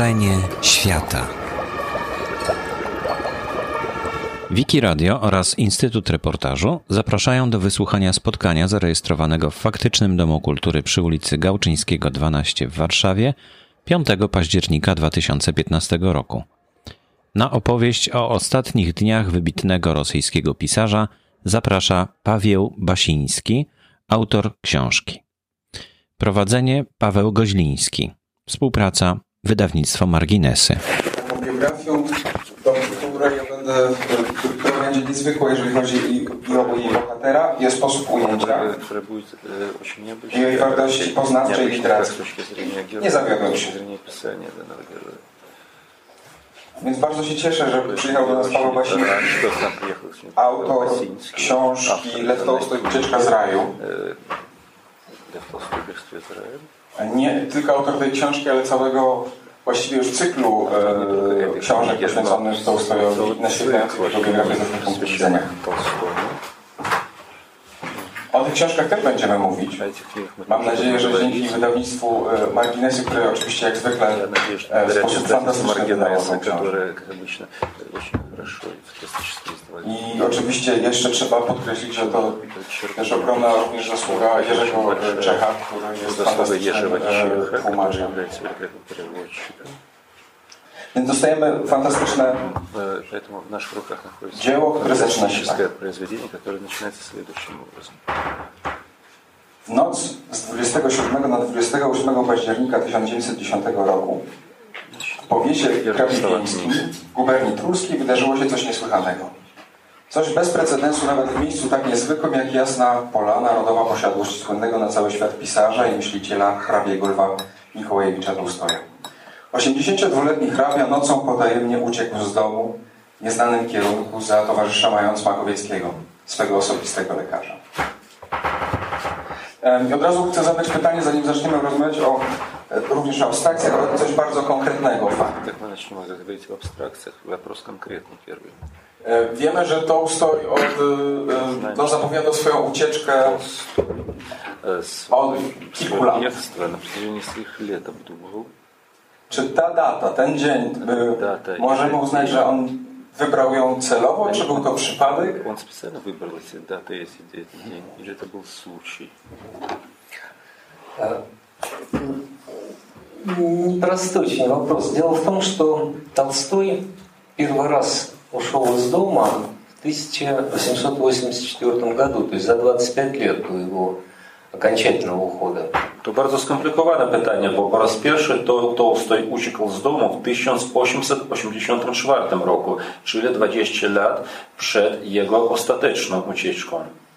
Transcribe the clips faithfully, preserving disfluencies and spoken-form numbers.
Wrażenie świata. Wikiradio oraz Instytut Reportażu zapraszają do wysłuchania spotkania zarejestrowanego w Faktycznym Domu Kultury przy ulicy Gałczyńskiego dwanaście w Warszawie piątego października dwa tysiące piętnastego roku. Na opowieść o ostatnich dniach wybitnego rosyjskiego pisarza zaprasza Pawieł Basiński, autor książki. Prowadzenie Paweł Goźliński. Współpraca Wydawnictwo Marginesy. Taką biografią, do której ja będę, która będzie niezwykła, jeżeli chodzi i, i o jej bohatera, i o sposób ujęcia, i jej wartości poznawczej i literackiej. Nie zawiodłem się. Więc bardzo się cieszę, że przyjechał do nas Paweł Basiński, autor książki Lew Tolstoj Ucieczka z raju. Nie tylko autor tej książki, ale całego właściwie już cyklu e, książek poświęconych Tolstojowi, naświetlających jego biografię ze swojego punktu widzenia. O tych książkach też będziemy mówić. Mam nadzieję, że dzięki wydawnictwu Marginesy, które oczywiście jak zwykle w sposób fantastyczny wydało tą książkę. I oczywiście jeszcze trzeba podkreślić, że to też ogromna również zasługa Jerzego Czecha, który jest fantastycznym tłumaczem. Więc dostajemy fantastyczne dzieło, które zaczyna się tak. W noc z dwudziestego siódmego na dwudziestego ósmego października tysiąc dziewięćset dziesiątego roku w powiecie krapiewińskim w guberni Trulskiej wydarzyło się coś niesłychanego. Coś bez precedensu nawet w miejscu tak niezwykłym jak Jasna Polana, rodowa posiadłość słynnego na cały świat pisarza i myśliciela hrabiego Lwa Michołajewicza Tolstoja. osiemdziesięciodwuletni hrabia nocą potajemnie uciekł z domu w nieznanym kierunku za towarzysza mając Makowieckiego, swego osobistego lekarza. I od razu chcę zadać pytanie, zanim zaczniemy rozmawiać o również o abstrakcjach, ale coś bardzo konkretnego. Tak, my zaczniemy rozmawiać o abstrakcjach. Вопрос konkretny pierwszy. Wiemy, że Tolstoj od, no, zapowiadał swoją ucieczkę od kilku lat. Na przestrzeni swoich lat obdubował. Czy ta data, ten dzień, możemy uznać, że on wybrał ją celowo, czy był to przypadek? On specjalnie wybrał tę datę, jeśli ten dzień, или to był случай? Непростой очень вопрос. Дело в том, что Толстой первый раз ушел из дома в тысяча восемьсот восемьдесят четвёртом году, то есть за двадцять пять лет до его окончательного ухода. To bardzo skomplikowane pytanie, bo po raz pierwszy to Tolstoj uciekł z domu w tysiąc osiemset osiemdziesiątym czwartym roku, czyli dwadzieścia lat przed jego ostateczną ucieczką.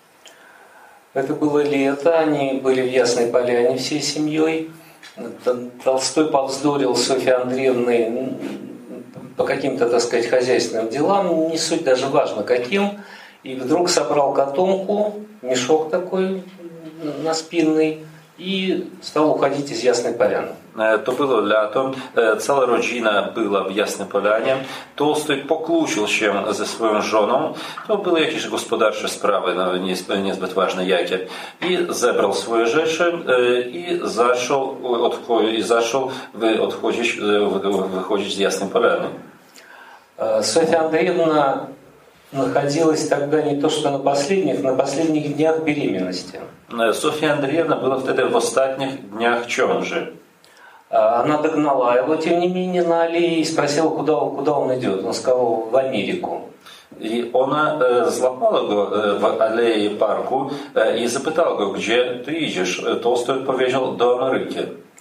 Это было лето, они были в Ясной Поляне всей семьей. Толстой повздорил с Софьей Андреевной по каким-то, так сказать, хозяйственным делам, не суть даже важно каким, и вдруг собрал котомку, мешок такой наспинный, i stał uchodzić z Jasnej Poляny. To było lato, cała rodzina była w Jasnej Polanie. Tolstoj pokłócił się ze swoją żoną. To były jakieś gospodarcze sprawy, no, niezbyt ważne jakie. I zebrał swoje rzeczy i zaczął, odcho- i zaczął odchodzić, wychodzić z Jasnej Polany. Софья Андреевна находилась тогда не то что на последних, на последних днях беременности. Софья Андреевна была wtedy w ostatnich dniach ciąży. Она догнала его, тем не менее, на аллее и спросила, куда, куда он идет. Он сказал, в Америку. I ona złapała go w alei parku i zapytała go, gdzie ty idziesz. Tolstoj odpowiedział, do Ameryki.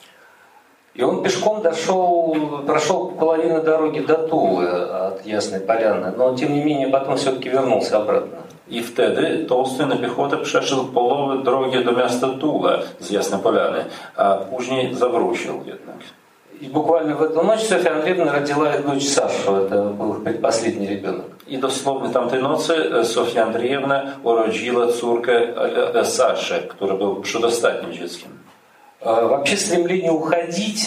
И он пешком дошел, прошел половину дороги до Тулы от Ясной Поляны, но тем не менее потом все-таки вернулся обратно. I wtedy Tolstoj na piechotę przeszedł połowę drogi do miasta Tula z Jasnej Polany, a później zawrócił jednak. И буквально в эту ночь Софья Андреевна родила дочь Сашу, это был их предпоследний ребенок. I dosłownie tamtej nocy Sofia Andrzejewna urodziła córkę Saszę, która był przedostatnim dzieckiem. Вообще стремление уходить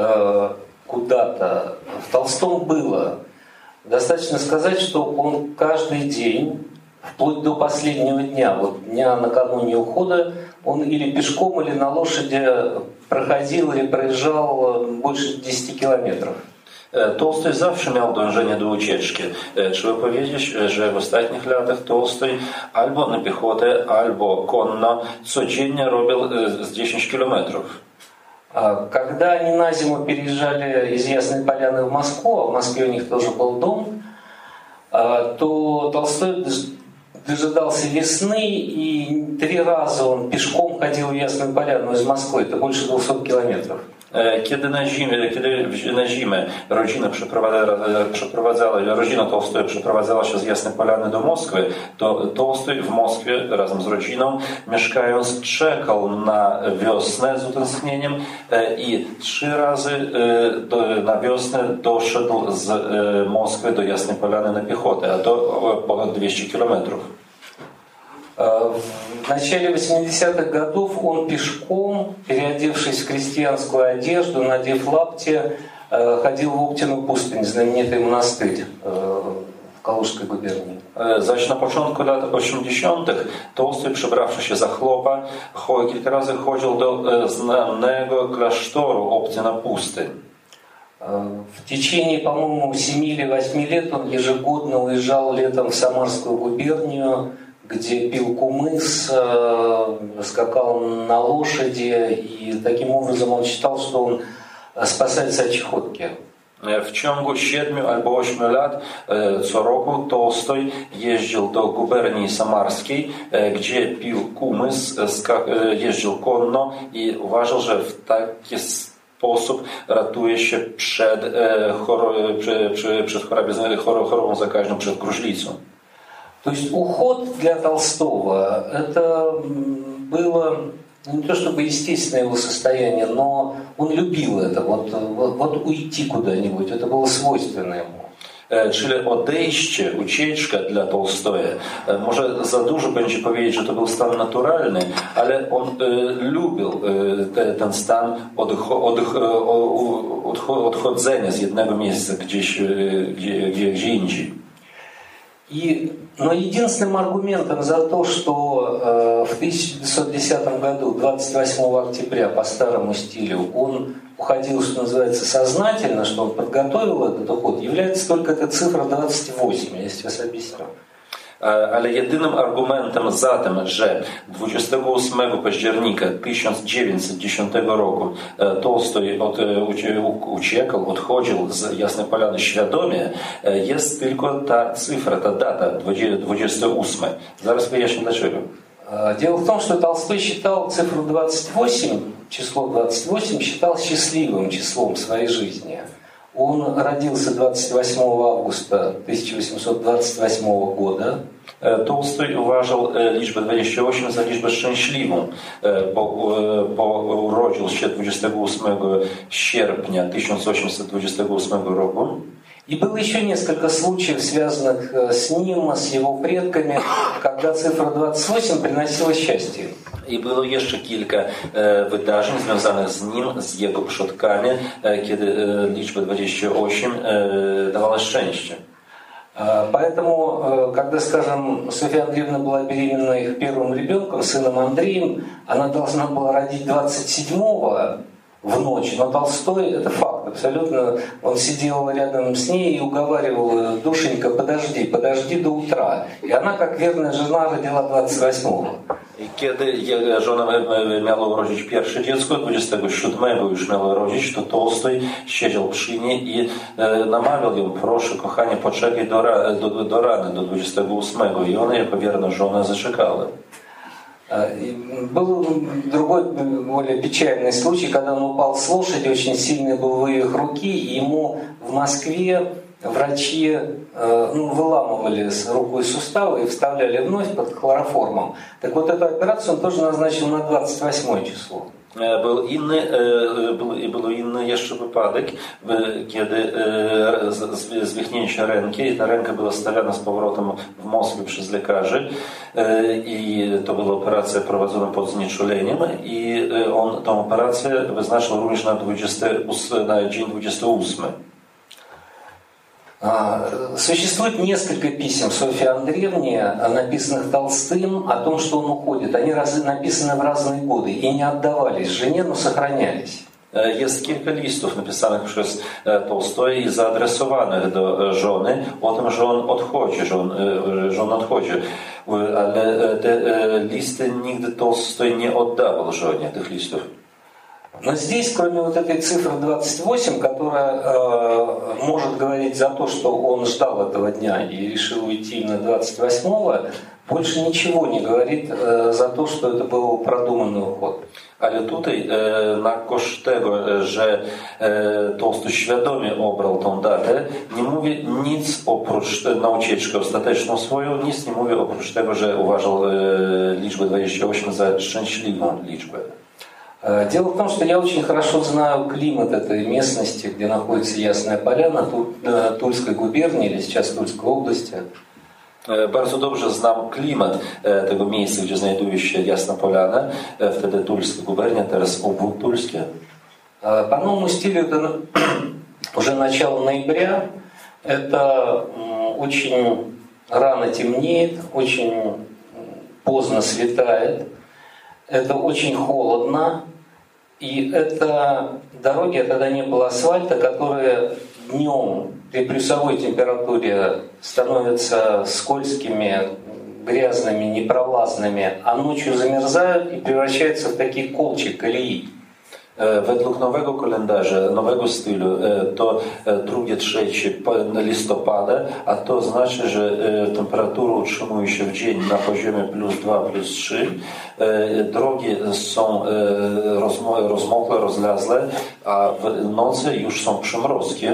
куда-то в Толстом было. Достаточно сказать, что он каждый день, вплоть до последнего дня, вот дня накануне ухода, он или пешком, или на лошади проходил или проезжал больше десяти километров. Tolstoj zawsze miał dążenie do ucieczki. Trzeba powiedzieć, że w ostatnich latach Tolstoj albo na piechotę, albo konno codziennie robił z dziesięć kilometrów. Когда они на зиму переезжали из Ясной Поляны в Москву, а в Москве у них тоже был дом, то Толстой дожидался весны, и три раза он пешком ходил в Ясную Поляну из Москвы, это больше двухсот километров. Kiedy na zimę, kiedy na zimę rodzina przeprowadzała, przeprowadzała, rodzina Tolstoja przeprowadzała się z Jasnej Polany do Moskwy, to Tolstoj w Moskwie razem z rodziną mieszkając czekał na wiosnę z utęsknieniem i trzy razy na wiosnę doszedł z Moskwy do Jasnej Polany na piechotę, a to ponad dwieście kilometrów. В начале восьмидесятых годов он пешком, переодевшись в крестьянскую одежду, надев лапти, ходил в Оптину пустынь, знаменитый монастырь w Kałużskiej guberni. Zaś na początku lat osiemdziesiątych Tolstoj, przebrawszy się za chłopa, kilka razy chodził do znanego klasztoru Optina Pustyń. В течение, по-моему, семи или восьми лет он ежегодно уезжал летом в Самарскую губернию, где пил кумыс, скакал на лошади, и таким образом он считал, что он спасается от чехотки. W ciągu siedmiu albo ośmiu lat co roku Tolstoj jeździł do guberni samarskiej, gdzie pił kumys, jeździł konno i uważał, że w taki sposób ratuje się przed, przed chorobą zakaźną, przed gruźlicą. То есть уход для Толстого это было не то чтобы естественное его состояние, но он любил это, вот, вот, вот uйти куда-нибудь, это было свойственно ему. Czyli odejście, ucieczka dla Tolstoja. Może za dużo będzie powiedzieć, że to był stan naturalny, ale on e, lubił e, te, ten stan odcho, odch, odch, odchodzenia z jednego miejsca gdzieś, e, gdzie, gdzie, gdzie indziej. И, но единственным аргументом за то, что э, в тысяча девятьсот десятом году, двадцать восьмого октября по старому стилю, он уходил, что называется, сознательно, что он подготовил этот уход, является только эта цифра двадцать восемь, я сейчас объясню. Ale jedynym argumentem za tym, że dwudziestego ósmego października tysiąc dziewięćset dziesiątego roku Tolstoj od, uciekał, odchodził z Jasnej Polany świadomie, jest tylko ta cyfra, ta data двадцать восемь. Zaraz wyjaśnię dlaczego. Дело в том, что Толстой считал цифру двадцать восемь, число двадцать восемь, считал счастливым числом своей жизни. Он родился двадцать восьмого августа тысяча восемьсот двадцать восьмого года. Tolstoj uważał liczbę dwadzieścia osiem za liczbę szczęśliwą, bo, bo urodził się dwudziestego ósmego sierpnia tysiąc osiemset dwudziestego ósmego roku. И было еще несколько случаев, связанных с ним, с его предками, когда цифра двадцать восемь приносила счастье. I było jeszcze kilka e, wydarzeń związanych z nim, z jego przodkami, e, kiedy e, liczba dwadzieścia osiem e, dawała szczęście. Поэтому, когда, скажем, Софья Андреевна была беременна их первым ребенком, сыном Андреем, она должна была родить двадцать седьмого в ночь, но Толстой, это факт абсолютно, он сидел рядом с ней и уговаривал: душенька, подожди, подожди до утра. И она, как верная жена, родила двадцать восьмого. I kiedy żona miała urodzić pierwsze dziecko, dwudziestego siódmego już miała urodzić, to Tolstoj siedział przy niej i namawiał ją: proszę kochanie, poczekaj do, do, do rany, do dwudziestego ósmego. I ona jako wierna żona zaczekała. Был другой, более печальный случай, когда он упал с лошади, очень сильный был вывих руки, и ему в Москве врачи ну, выламывали с рукой суставы и вставляли вновь под хлороформом. Так вот эту операцию он тоже назначил на двадцать восьмое число. Był inny, był, był inny jeszcze wypadek, kiedy zwichnięcie ręki i ta ręka była stawiana z powrotem w Moskwie przez lekarzy i to była operacja prowadzona pod znieczuleniem i on tę operację wyznaczył również na, dwudziesty ósmy, na dzień dwudziesty ósmy. Существует несколько писем Софьи Андреевне, написанных Толстым, о том, что он уходит. Они раз, написаны в разные годы и не отдавались жене, но сохранялись. Jest kilka listów napisanych przez Tolstoj i zaadresowanych do żony o tym, że on odchodzi, że on, że on odchodzi. Ale te listy nigdy Tolstoj nie oddawał żonie tych listów. Но здесь, кроме вот этой цифры двадцать восемь, которая э, может говорить за то, что он ждал этого дня и решил уйти именно двадцать восьмого, больше ничего не говорит э, за то, что это был продуманный уход. Ale tutaj e, na koszt tego, że e, Tolstoj świadomie obrał tą datę, nie mówi nic oprócz na ucieczkę ostateczną swoją, nic nie mówi oprócz tego, że uważał e, liczbę двадцать восемь za szczęśliwą liczbę. Дело в том, что я очень хорошо знаю климат этой местности, где находится Ясная Поляна, Тульской губернии или сейчас Тульской области. Bardzo dobrze znam klimat tego miejsca, gdzie znajduje się Jasna Poляна, wtedy Тульska губерния, teraz obwód Тульский. По новому стилю это уже начало ноября, это очень рано темнеет, очень поздно светает, это очень холодно, и это дороги, тогда не было асфальта, которые днем при плюсовой температуре становятся скользкими, грязными, непролазными, а ночью замерзают и превращаются в такие колчи, колеи. Według nowego kalendarza, nowego stylu, to drugie, trzecie listopada, a to znaczy, że temperatura utrzymuje się w dzień na poziomie plus dwa, plus trzy. Drogi są rozmokłe, rozlazłe, a w nocy już są przymrozki.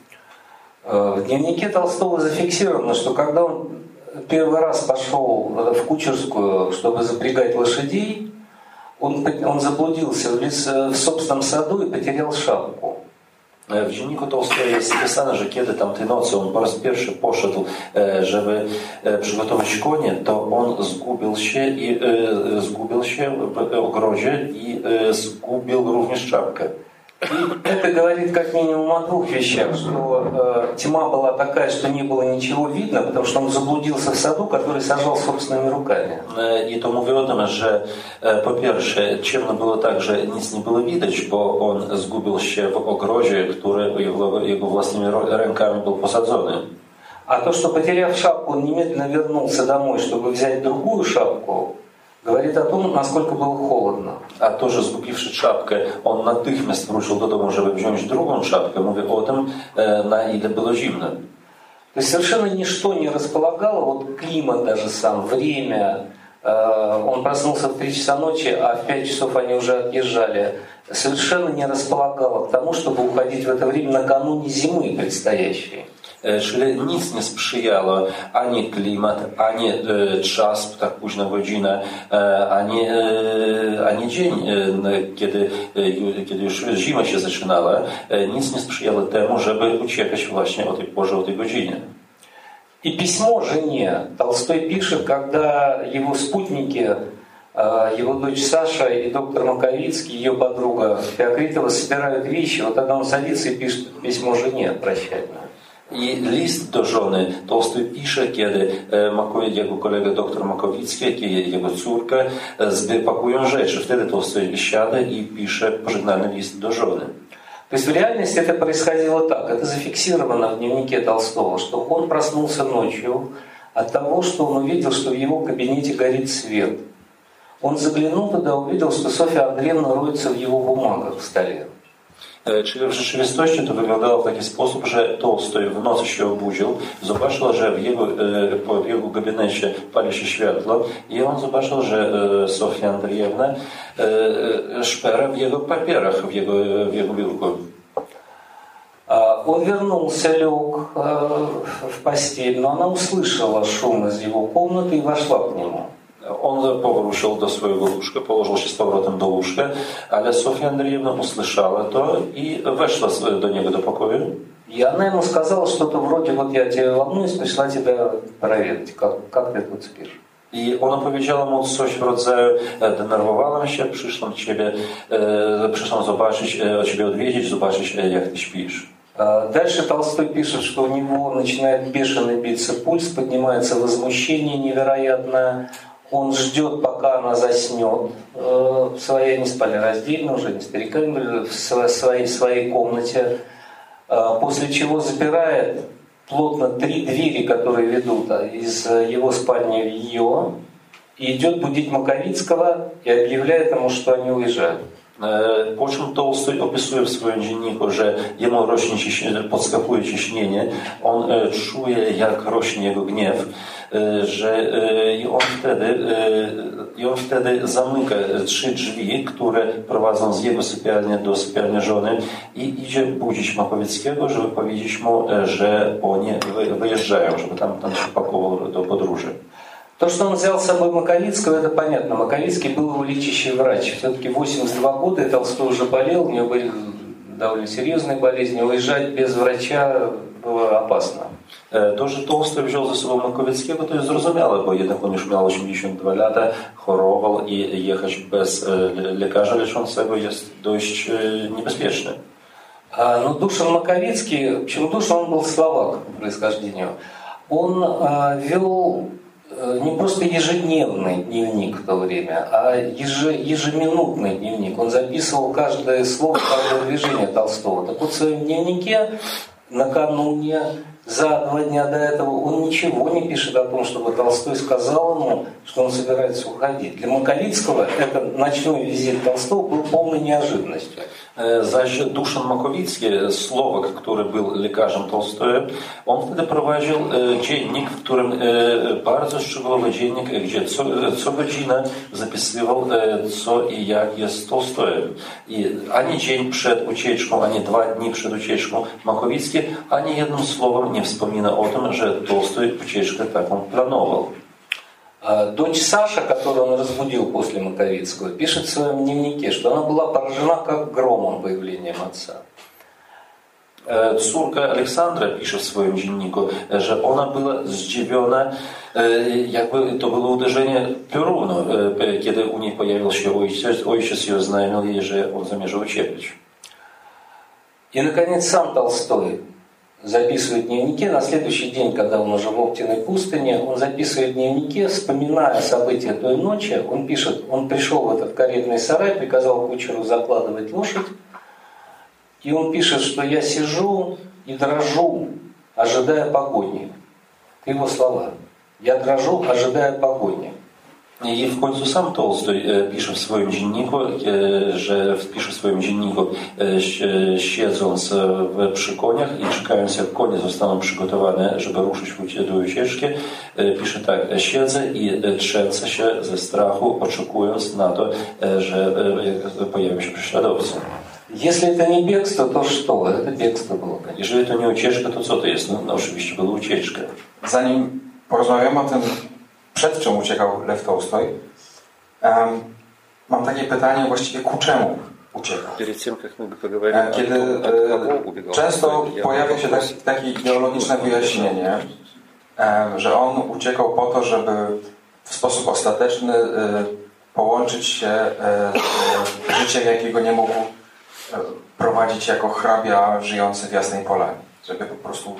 В дневнике Толстого зафиксировано, что когда он первый раз пошел в Кучерскую, чтобы запрягать лошадей, Он, он заблудился в, лес, в собственном саду и потерял шапку. W dzienniku Tolstoja jest zapisane, że kiedy tamtej nocy on po raz pierwszy poszedł, żeby przygotować konie, to on zgubił się i zgubił się w ogrodzie i zgubił również czapkę. И это говорит как минимум о двух вещах, что э, тьма была такая, что не было ничего видно, потому что он заблудился в саду, который сажал собственными руками. I to mówi o tym, że po pierwsze ciemno było tak, że nic nie było widać, bo on zgubił się w ogrodzie, który jego, jego własnymi rękami był posadzony. А то, что потеряв шапку, он немедленно вернулся домой, чтобы взять другую шапку, говорит о том, насколько было холодно. A to, że zgubiwszy czapkę, on natychmiast wrócił do domu, żeby wziąć drugą czapkę, mówi o tym, na ile było zimno. То есть совершенно ничто не располагало, вот климат даже сам, время. Он проснулся в три часа ночи, а в пять часов они уже отъезжали. Совершенно не располагало к тому, чтобы уходить в это время накануне зимы предстоящей. Czyli nic nie sprzyjało ani klimat, ani e, czas, tak późna godzina, e, ani, e, ani dzień, e, kiedy, e, kiedy już zima się zaczynała. E, nic nie sprzyjało temu, żeby uciekać właśnie o tej porze, o tej godzinie. И письмо жене Толстой пишет, когда его спутники, его дочь Саша и доктор Маковицкий, ее подруга Феокритова, собирают вещи. Вот тогда он садится и пишет письмо жене прощальное. I list do żony Tolstoj pisze, kiedy Makowiec, jego kolega dr Makowicki, jak i jego córka pakują rzeczy. Wtedy Tolstoj siada i pisze pożegnalny list do żony. То есть в реальности это происходило так. Это зафиксировано в дневнике Толстого, что он проснулся ночью от того, что он увидел, что в его кабинете горит свет. Он заглянул туда, увидел, что Софья Андреевна роется в его бумагах в stole. Czyli w rzeczywistości to wyglądało w taki sposób, że Tolstoj w nocy się obudził, zobaczył, że w jego, w jego gabinecie pali się światło i on zobaczył, że Sofia Andrzejewna szpera w jego papierach, w jego, w jego biurku. Он вернулся, лег в постель, но она услышала шум из его комнаты и вошла к нему. On powrócił do swojego łóżka, położył się z powrotem do łóżka, ale Sofia Andrzejewna usłyszała to i weszła do niego do pokoju. И она ему сказала что-то вроде: вот я тебя волнуюсь, пришла тебя проверить, как, как ты тут спишь. I ona powiedziała mu coś w rodzaju: denerwowałam się, przyszłam ciebie, przyszłam zobaczyć, ciebie odwiedzić, zobaczyć, jak ty śpisz. Дальше Толстой пишет, что у него начинает бешено биться пульс, поднимается возмущение невероятное. Он ждет, пока она заснет в своей, они спали раздельно уже, не стариками, в своей, своей комнате. После чего запирает плотно три двери, которые ведут из его спальни в ее, и идет будить Маковицкого и объявляет ему, что они уезжают. Po czym Tolstoj opisuje w swoim dzienniku, że jemu rośnie ciśnienie, podskakuje ciśnienie, on czuje, jak rośnie jego gniew, że i on wtedy, i on wtedy zamyka trzy drzwi, które prowadzą z jego sypialni do sypialni żony i idzie budzić Makowieckiego, żeby powiedzieć mu, że oni wyjeżdżają, żeby tam, tam się pakował do podróży. То, что он взял с собой Маковицкого, это понятно. Маковицкий был его лечащий врач. Все-таки восемьдесят два года, и Толстой уже болел, у него были довольно серьезные болезни. Уезжать без врача было опасно. To, że Tolstoj wziął ze sobą Makowieckiego, to jest zrozumiałe, bo jednak on już miał osiemdziesiąt dwa lata, chorował i jechać bez lekarza leczącego jest dość niebezpieczne. Но Душан Маковицкий, почему Душан, он был словак по происхождению, он вел не просто ежедневный дневник в то время, а ежеминутный дневник. Он записывал каждое слово, каждое движение Толстого. Так вот в своем дневнике накануне, за два дня до этого, он ничего не пишет о том, чтобы Толстой сказал ему, что он собирается уходить. Для Маковицкого этот ночной визит Толстого был полной неожиданностью. Zaś Duszan Makowicki, Słowak, który był lekarzem Tolstoja, on wtedy prowadził dziennik, w którym bardzo szczegółowy dziennik, gdzie co, co godzinę zapisywał, co i jak jest z Tolstojem. I ani dzień przed ucieczką, ani dwa dni przed ucieczką Makowicki ani jednym słowem nie wspomina o tym, że Tolstoj ucieczkę taką planował. Дочь Саша, которую он разбудил после Маковицкого, пишет в своем дневнике, что она была поражена как громом появлением отца. Córka Aleksandra pisze w swoim dzienniku, że ona była zdziwiona, jakby to było uderzenie piorunu, kiedy u niej pojawił się ojciec, ojciec i oznajmił jej, że on zamierza uciekać. И, наконец, сам Толстой записывает в дневнике. На следующий день, когда он уже в Оптиной пустыне, он записывает в дневнике, вспоминая события той ночи, он пишет, он пришел в этот каретный сарай, приказал кучеру закладывать лошадь, и он пишет, что я сижу и дрожу, ожидая погони. Это его слова. Я дрожу, ожидая погони. I w końcu sam Tolstoj pisze w swoim dzienniku, że pisze w swoim dzienniku, siedząc w, przy koniach i czekając, jak konie zostaną przygotowane, żeby ruszyć do ucieczki, pisze tak: siedzę i trzęsę się ze strachu, oczekując na to, że pojawią się prześladowcy. Если это не бегство, то что? Это бегство было, конечно. Jeżeli to nie ucieczka, to co to jest? No, no oczywiście była ucieczka. Zanim porozmawiamy o tym, przed czym uciekał Lew Tolstoj, um, mam takie pytanie właściwie ku czemu uciekał. Kiedy e, często pojawia się tak, takie ideologiczne wyjaśnienie, e, że on uciekał po to, żeby w sposób ostateczny e, połączyć się e, z życiem, jakiego nie mógł e, prowadzić jako hrabia żyjący w Jasnej Polanie. Żeby po prostu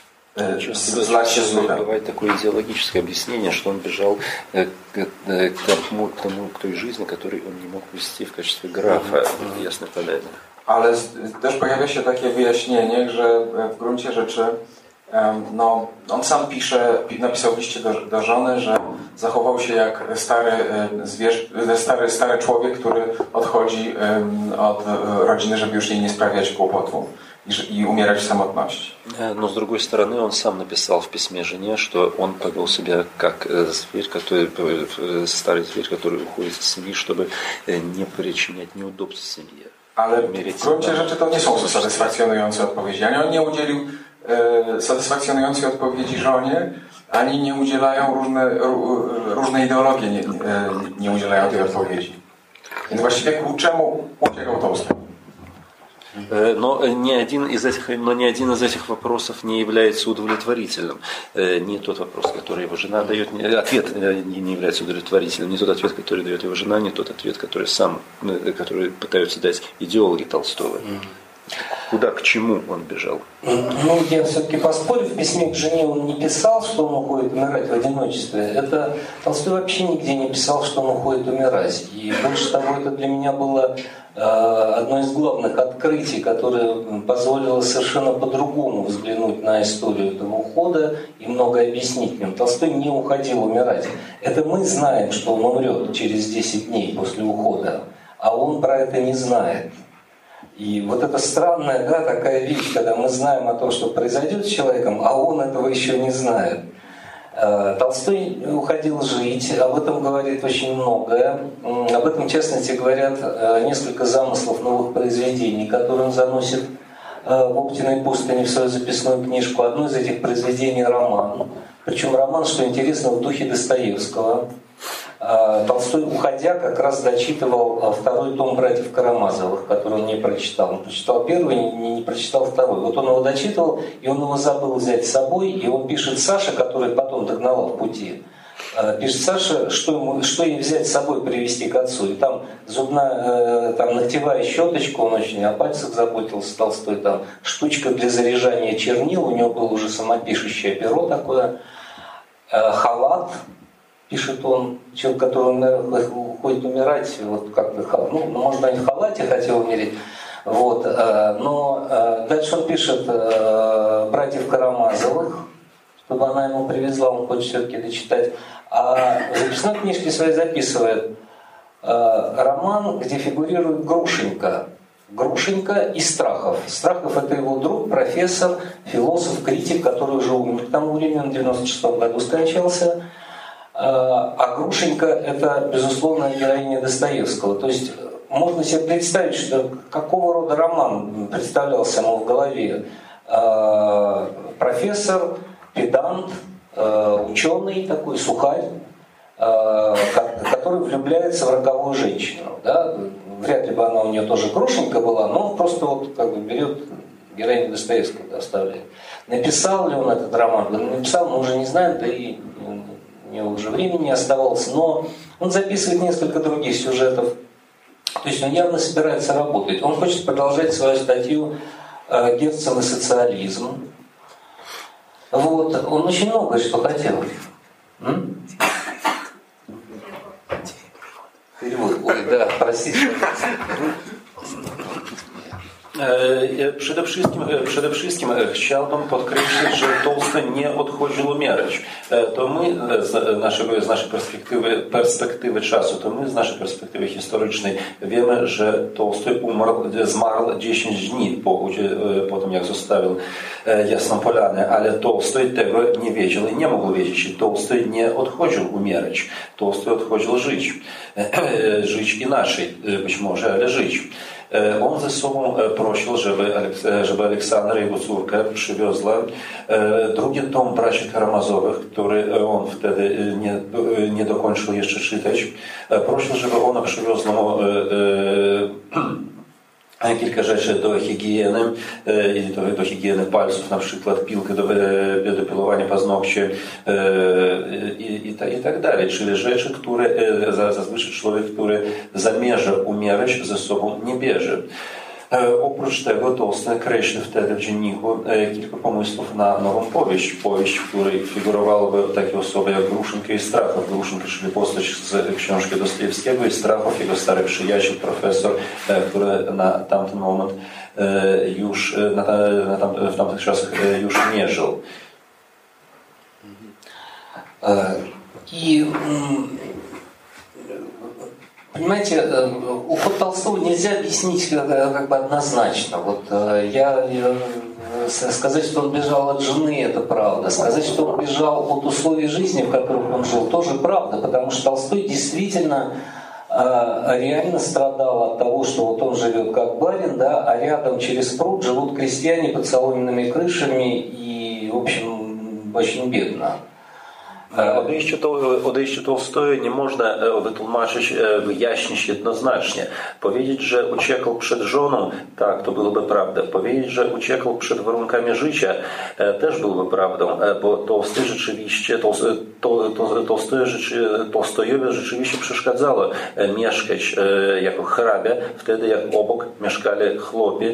Бывает такое идеологическое объяснение, что он бежал к, к, тому, к, тому, к той жизни, которую он не мог вести в качестве графа в Ясной Поляне. Ale też pojawia się takie wyjaśnienie, że w gruncie rzeczy no, on sam pisze, napisał w liście do, do żony, że zachował się jak stary, zwierz, stary, stary człowiek, który odchodzi od rodziny, żeby już jej nie sprawiać kłopotu и умирать в самотności. Но с другой стороны, он сам написал в письме жене, что он повел себя как зверь, который, старый зверь, который уходит из семьи, чтобы не причинять неудобств семье. Ale w gruncie rzeczy to nie są satysfakcjonujące odpowiedzi. Ani on nie udzielił e, satysfakcjonującej odpowiedzi żonie, ani nie udzielają różne, różne ideologie, nie, nie udzielają tej odpowiedzi. Więc właściwie ku czemu uciekał Tolstoj? Но ни один из этих, но ни один из этих вопросов не является удовлетворительным. Не тот вопрос, который его жена дает, ответ не является удовлетворительным, не тот ответ, который дает его жена, не тот ответ, который сам, который пытаются дать идеологи Толстого. Куда, к чему он бежал? Ну, я все-таки поспорю, в письме к жене он не писал, что он уходит умирать в одиночестве. Это Толстой вообще нигде не писал, что он уходит умирать. И больше того, это для меня было э, одно из главных открытий, которое позволило совершенно по-другому взглянуть на историю этого ухода и многое объяснить в нем. Толстой не уходил умирать. Это мы знаем, что он умрет через десять дней после ухода, а он про это не знает. И вот это странная, да, такая вещь, когда мы знаем о том, что произойдет с человеком, а он этого еще не знает. Толстой уходил жить, об этом говорит очень многое. Об этом, в частности, говорят несколько замыслов новых произведений, которые он заносит в Оптиной пустыне в свою записную книжку. Одно из этих произведений — роман. Причем роман, что интересно, в духе Достоевского. Толстой, уходя, как раз дочитывал второй том «Братьев Карамазовых», который он не прочитал. Он прочитал первый, не, не прочитал второй. Вот он его дочитывал, и он его забыл взять с собой, и он пишет Саше, который потом догнала в пути, пишет Саше, что, ему, что ей взять с собой, привезти к отцу. И там зубная, там ногтевая щеточка, он очень о пальцах заботился, Толстой, там штучка для заряжания чернил, у него было уже самопишущее перо такое, халат, пишет он, человек, который, наверное, уходит умирать, вот как-то, ну, может, он в халате хотел умереть, вот, но дальше он пишет «Братьев Карамазовых», чтобы она ему привезла, он хочет все-таки дочитать, а в записной книжке своей записывает роман, где фигурирует Грушенька. Грушенька и Страхов. Страхов — это его друг, профессор, философ, критик, который уже умер к тому времени, он в девяносто шестом году скончался. А Грушенька — это, безусловно, героиня Достоевского. То есть можно себе представить, что какого рода роман представлялся ему в голове. Профессор, педант, ученый такой, сухарь, который влюбляется в роковую женщину. Да? Вряд ли бы она у нее тоже Грушенька была, но он просто вот как бы берет героиню Достоевского, оставляет. Написал ли он этот роман? Написал, мы уже не знаем, да и у него уже времени не оставалось, но он записывает несколько других сюжетов. То есть он явно собирается работать. Он хочет продолжать свою статью «Герцен и социализм». Вот. Он очень многое что хотел. М? Перевод. Ой, да, простите. Przede wszystkim, przede wszystkim chciałbym podkreślić, że Tolstoj nie odchodził umierać. To my z, naszego, z naszej perspektywy, perspektywy czasu, to my z naszej perspektywy historycznej wiemy, że Tolstoj umarł, zmarł dziesięć dni po, po tym, jak zostawił Jasną Polanę, ale Tolstoj tego nie wiedział i nie mógł wiedzieć. I Tolstoj nie odchodził umierać. Tolstoj odchodził żyć. Żyć inaczej, być może, ale żyć. On ze sobą prosił, żeby, żeby Aleksandra, jego córka, przywiozła drugi tom Braci Karamazowych, który on wtedy nie, nie dokończył jeszcze czytać. Prosił, żeby ona przywiozła mu kilka rzeczy do higieny, do, do higieny palców, na przykład piłkę do, do pilowania paznokci i, i, i tak dalej. Czyli rzeczy, które zazwyczaj człowiek, który zamierza umierać, ze sobą nie bierze. Oprócz tego Tolstoj kreślił wtedy w dzienniku kilka pomysłów na nową powieść. Powieść, w której figurowałyby takie osoby jak Gruszynka i Strachow. Gruszynka, czyli postać z książki Dostojewskiego, i Strachow, jego stary przyjaciel, profesor, który na tamten moment już, na, na tam, w tamtych czasach już nie żył. I понимаете, уход Толстого нельзя объяснить как бы однозначно. Вот я, я сказать, что он бежал от жены, это правда. Сказать, что он бежал от условий жизни, в которых он жил, тоже правда, потому что Толстой действительно реально страдал от того, что вот он живет как барин, да, а рядом через пруд живут крестьяне под соломенными крышами и, в общем, очень бедно. Odejście, to, odejście Tolstoja nie można wytłumaczyć, wyjaśnić jednoznacznie. Powiedzieć, że uciekł przed żoną, tak, to byłoby prawda. Powiedzieć, że uciekł przed warunkami życia, też byłoby prawdą, bo Tolstoj rzeczywiście, Tolstoj, Tolstoj, Tolstojowi rzeczywiście przeszkadzało mieszkać jako hrabia, wtedy jak obok mieszkali chłopi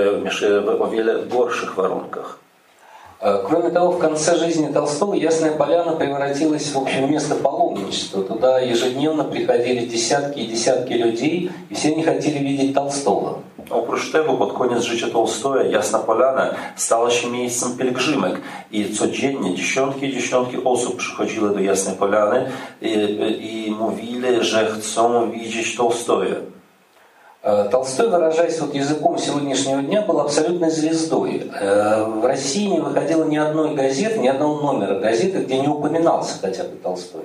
w o wiele gorszych warunkach. Кроме того, в конце жизни Толстого Ясная Поляна превратилась в общем место паломничества. Туда ежедневно приходили десятки и десятки людей, и все они хотели видеть Толстого. Oprócz tego, pod koniec życia Tolstoja, Jasna Polana stała się miejscem pielgrzymek i codziennie dziesiątki i dziesiątki osób przychodziły do Jasnej Polany i, i mówili, że chcą widzieć Tolstoja. Толстой, выражаясь вот языком сегодняшнего дня, был абсолютной звездой. В России не выходило ни одной газеты, ни одного номера газеты, где не упоминался хотя бы Толстой.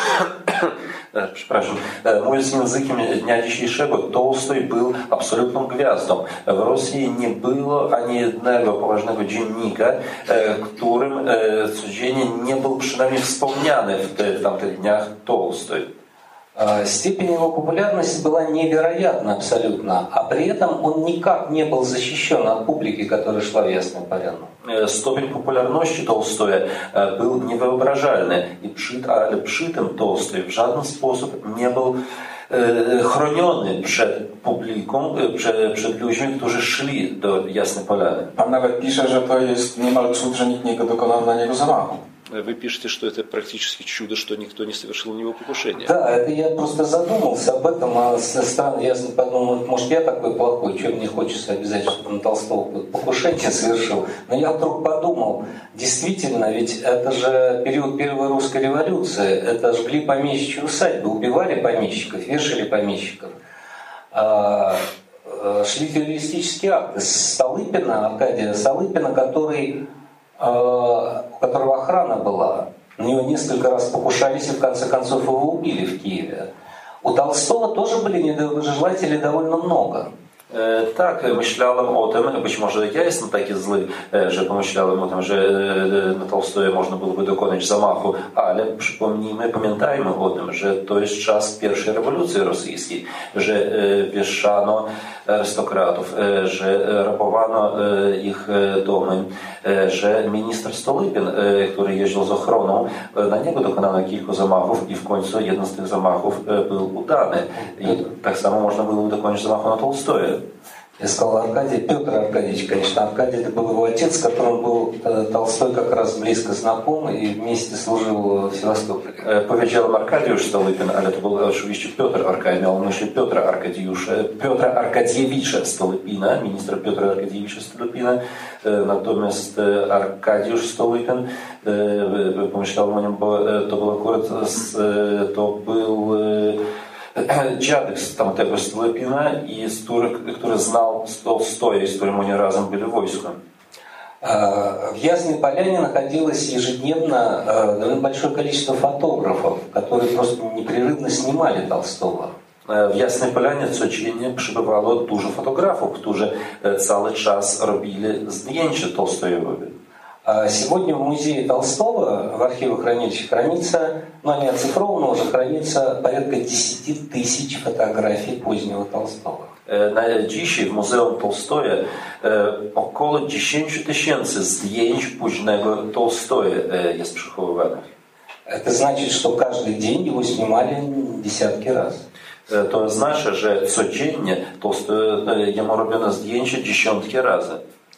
Przepraszam, mówiąc językiem dnia dzisiejszego, Tolstoj był absolutną gwiazdą. W Rosji nie było ani jednego poważnego dziennika, którym codziennie nie był przynajmniej wspomniany w, te, w tamtych dniach Tolstoj. Степень его популярности была невероятна абсолютно, а при этом он никак не был защищен от публики, которая шла в Ясную Поляну. Stopień popularności Tolstoja był niewyobrażalny, i przy, ale przy tym Tolstoj w żaden sposób nie był chroniony przed publiką, przed, przed ludźmi, którzy szli do Jasnej Polany. Pan nawet pisze, że to jest niemal cud, że nikt nie dokonał na niego zamachu. Вы пишете, что это практически чудо, что никто не совершил на него покушение. Да, это я просто задумался об этом, а странно, я подумал, может, я такой плохой, что мне хочется обязательно, чтобы на Толстого покушение совершил. Но я вдруг подумал, действительно, ведь это же период Первой русской революции, это жгли помещичьи усадьбы, убивали помещиков, вешали помещиков. Шли террористические акты. Столыпина, Аркадия Столыпина, который... у которого охрана была. На него несколько раз покушались и в конце концов его убили в Киеве. У Толстого тоже были недоброжелателей довольно много. Tak, myślałem o tym, być może ja jestem taki zły, że pomyślałem o tym, że na Tolstoja można byłoby dokonać zamachu, ale przypomnijmy, pamiętajmy o tym, że to jest czas pierwszej rewolucji rosyjskiej, że wieszano arystokratów, że rabowano ich domy, że minister Stolypin, który jeździł z ochroną, na niego dokonano kilku zamachów i w końcu jeden z tych zamachów był udany. I tak samo można było dokonać zamachu na Tolstoja. Я сказал Аркадий, Петр Аркадьевич, конечно, Аркадий это был его отец, с которым был Толстой как раз близко знаком и вместе служил в Севастополе. Powiedziałem Arkadiusz Stolypin, ale to był oczywiście Piotr Arkadiusz, miał na myśli Piotra Arkadiusza, Piotra Arkadiewicza Stolypina, ministra Piotra Arkadiewicza Stolypina, natomiast Arkadiusz Stolypin, pomyślałem o nim, bo to był akurat, to był dziadek z tamtego Stolypina, i który, który znał Tolstoja, z którym oni razem byli w wojsku. В Ясной Поляне находилось ежедневно довольно большое количество фотографов, которые просто непрерывно снимали Толстого. W Jasnej Polanie codziennie przybywało dużo fotografów, którzy cały czas robili zdjęcia Tolstojowi. Сегодня в музее Толстого, в архивохранилище хранится, но не оцифровано, уже хранится порядка десяти тысяч фотографий позднего Толстого. Dzisiaj w Muzeum Tolstoja około dziesięć tysięcy zdjęć późnego Tolstoja jest przechowywanych. Это значит, что каждый день его снимали десятки раз. To oznacza, że codziennie jemu robiono zdjęcia dziesiątki razy.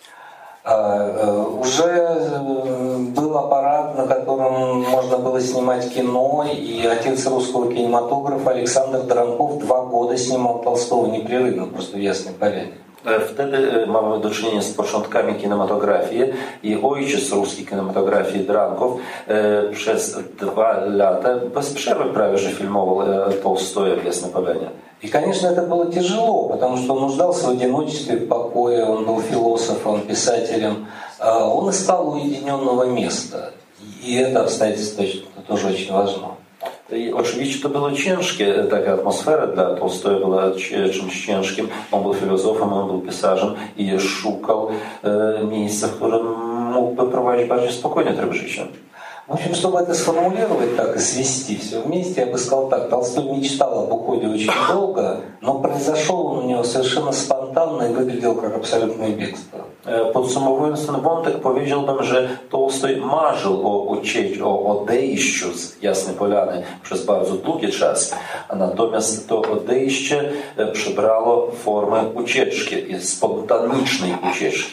Уже был аппарат, на котором можно было снимать кино, и отец русского кинематографа Александр Дранков два года снимал Толстого непрерывно, просто в Ясной Поляне. Wtedy mamy do czynienia z początkami kinematografii, i ojciec ruskiej kinematografii Drankow przez dwa lata bez przerwy prawie że filmował Tolstoja w Jasnej Polanie. И, конечно, это было тяжело, потому что он нуждался в одиночестве, в покое, он был философом, писателем. Он искал уединенного места, и это обстоятельство тоже очень важно. I oczywiście to było ciężkie, taka atmosfera dla Tolstoja była czymś ciężkim. On był filozofem, on był pisarzem i szukał miejsca, w którym mógłby prowadzić bardziej spokojny tryb życia. В общем, чтобы это сформулировать так и свести все вместе, я бы сказал так. Толстой мечтал об уходе очень долго, но произошел он у него совершенно спонтанно и выглядел как абсолютное бегство. Podsumowując ten wątek, powiedziałbym, że Tolstoj marzył o, ucie- o odejściu z Jasnej Polany przez bardzo długi czas, a natomiast to odejście przybrało formę ucieczki, spontanicznej ucieczki.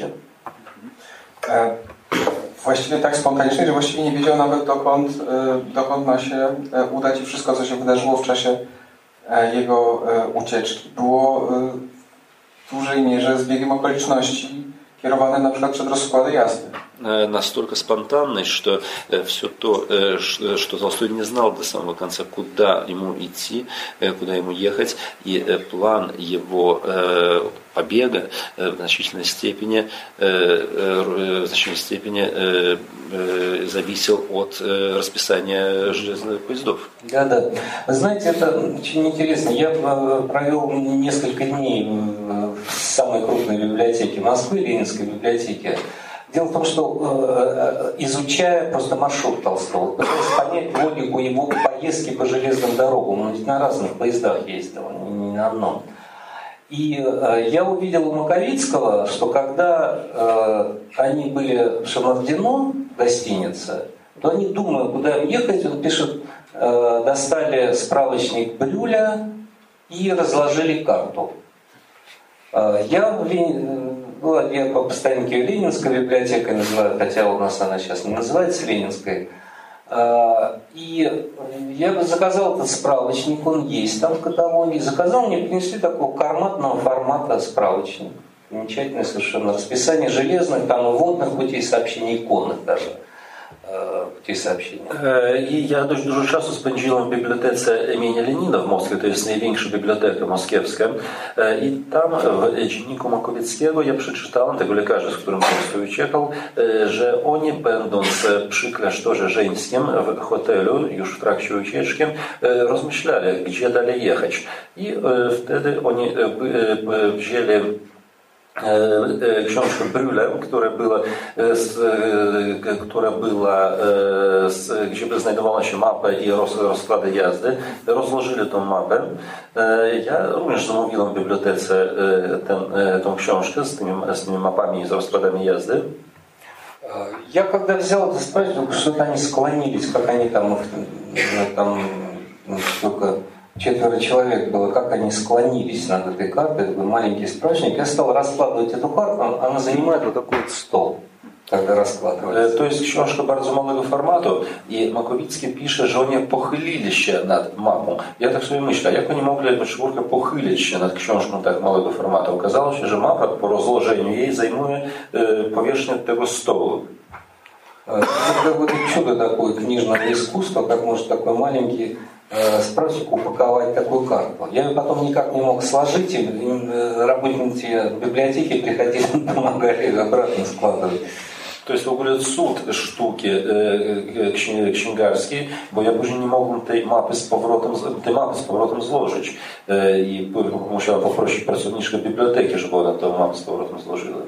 Właściwie tak spontanicznej, że właściwie nie wiedział nawet dokąd, dokąd ma się udać i wszystko, co się wydarzyło w czasie jego ucieczki, było w dużej mierze zbiegiem okoliczności kierowane na przykład przed rozkłady jazdy. Настолько спонтанной, что все то, что Толстой не знал до самого конца, куда ему идти, куда ему ехать, и план его побега в значительной степени, в значительной степени зависел от расписания железных поездов. Да, да. Вы знаете, это очень интересно. Я провел несколько дней в самой крупной библиотеке Москвы, Ленинской библиотеке. Дело в том, что изучая просто маршрут Толстого, пытаясь понять логику его поездки по железным дорогам, он ведь на разных поездах ездил, не на одном. И я увидел у Маковицкого, что когда они были в Шамардино, гостинице, то они, думая, куда им ехать, он пишет, достали справочник Брюля и разложили карту. Я Ну, я по постоянке ее Ленинской библиотекой называю, хотя у нас она сейчас не называется Ленинской. И я бы заказал этот справочник, он есть там в каталоге. Заказал, мне принесли такого карматного формата справочник. Замечательное совершенно расписание железных, там и водных путей сообщений, и конных даже путей сообщения. I ja dość dużo czasu spędziłem w bibliotece imienia Lenina w Moskwie, to jest największa biblioteka moskiewska. I tam w dzienniku Makowieckiego ja przeczytałem, tego lekarza, z którym Tolstoj uciekał, że oni, będąc przy klasztorze żeńskim w hotelu, już w trakcie ucieczki, rozmyślali, gdzie dalej jechać. I wtedy oni wzięli książkę Brühle, która była, która była, gdzie by znajdowała się mapa i rozkłady jazdy, rozłożyli tą mapę. Ja również zamówiłem w bibliotece ten, tą książkę z tymi, z tymi mapami i z rozkładami jazdy. Я когда взял это справочник, что-то они склонились, как они там, там только четверо человек было, как они склонились над этой картой, такой маленький справочник. Я стал раскладывать эту карту, она занимает вот такой вот стол, когда раскладывается. To jest książka bardzo małego formatu i Makowicki pisze, że oni pochylili się nad mapą. Ja tak sobie myślę, jak oni mogli jako czwórka pochylić się nad książką tak małego formatu? Okazało się, że mapa po rozłożeniu jej zajmuje powierzchnię tego stołu. Это какое-то чудо такое книжного искусства, как может такой маленький справочник упаковать такую карту. Я ее потом никак не мог сложить, и работники библиотеки приходили, помогали ее обратно складывать. To jest w ogóle cud sztuki księgarskiej, bo ja później nie mogłem tej mapy z powrotem, tej mapy z powrotem złożyć. I musiałem poprosić pracowniczkę biblioteki, żeby ona tę mapę z powrotem złożyła.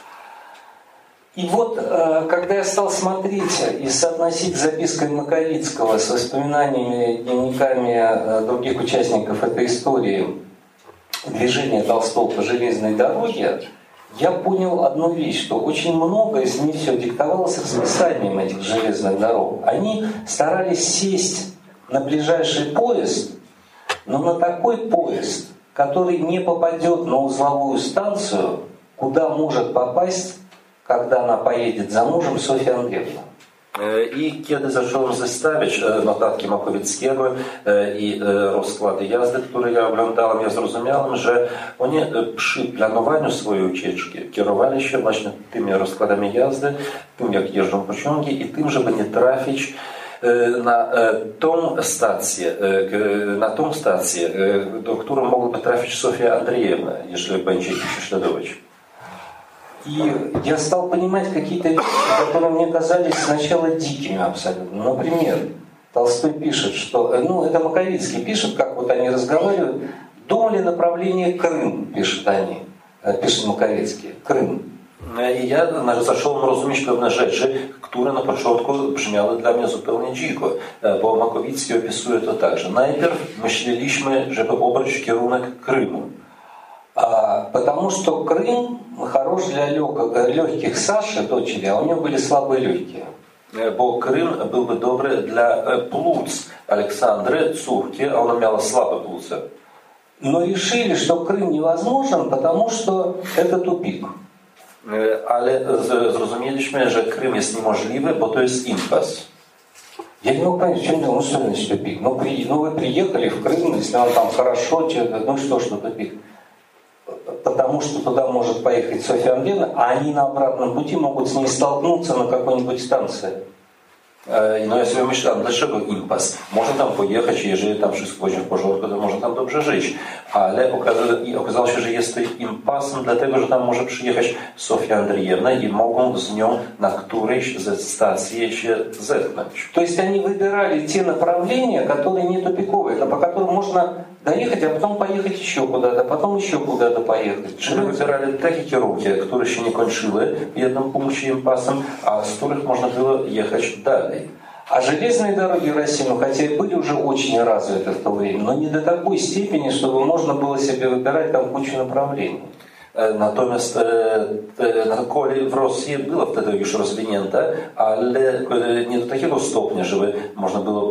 И вот, когда я стал смотреть и соотносить запиской Маковицкого с воспоминаниями, дневниками других участников этой истории движения Толстого по железной дороге, я понял одну вещь, что очень много из них все диктовалось расписанием этих железных дорог. Они старались сесть на ближайший поезд, но на такой поезд, который не попадет на узловую станцию, куда может попасть, когда она поедет за мужем, Софья Андреевна. I kiedy zacząłem zestawiać notatki Makowieckiego i rozkłady jazdy, które ja oglądałem, ja zrozumiałem, że oni przy planowaniu swojej ucieczki kierowali się właśnie tymi rozkładami jazdy, tym jak jeżdżą pociągi i tym, żeby nie trafić na tą stację, na tą stację, do którą mogłaby trafić Sofia Andrzejewna, jeżeli będzie ich prześladować. И я стал понимать какие-то вещи, которые мне казались сначала дикими абсолютно. Например, Толстой пишет, что... Ну, это Маковицкий пишет, как вот они разговаривают. Думали направление Крым, пишут они. Пишет Маковицкий. Крым. I ja zacząłem rozumieć pewne rzeczy, które na początku brzmiały dla mnie zupełnie dziko, bo Makowicki opisuje to tak, że najpierw myśleliśmy, żeby obrać kierunek Krymu. А, потому что Крым хорош для легких Саши, дочери, а у него были слабые легкие. Bo Krym byłby dobry dla płuc Aleksandry, córki, a ona miała słabe płuce. Но решили, что Крым невозможен, потому что это тупик. Ale zrozumieliśmy, że Krym jest niemożliwy, bo to jest impas. Я не могу понять, в чем дело, ну что значит тупик? Ну, при, ну вы приехали в Крым, если вам там хорошо, ну что, что тупик? Потому что туда может поехать Софья Андреевна, а они на обратном пути могут с ней столкнуться на какой-нибудь станции. No ja sobie myślałem, dlaczego impas? Można tam pojechać, jeżeli tam wszystko będzie w porządku, to można tam dobrze żyć. Ale okazało się, że jest to impasem, dlatego że tam może przyjechać Sofia Andrzejewna i mogą z nią na którejś ze stacji się zetknąć. То есть они выбирали те направления, которые не тупиковые, по которым можно доехать, а потом поехать еще куда-то, потом еще куда-то поехать. Czyli wybierali takie kierunki, które się nie kończyły w jednym punkcie impasem, a z których można było jechać dalej. А железные дороги России, ну, хотя и были уже очень развиты в то время, но не до такой степени, чтобы можно было себе wybierać tam кучу направлений. Natomiast e, kolej w Rosji była wtedy już rozwinięte, ale nie do takiego stopnia, żeby można było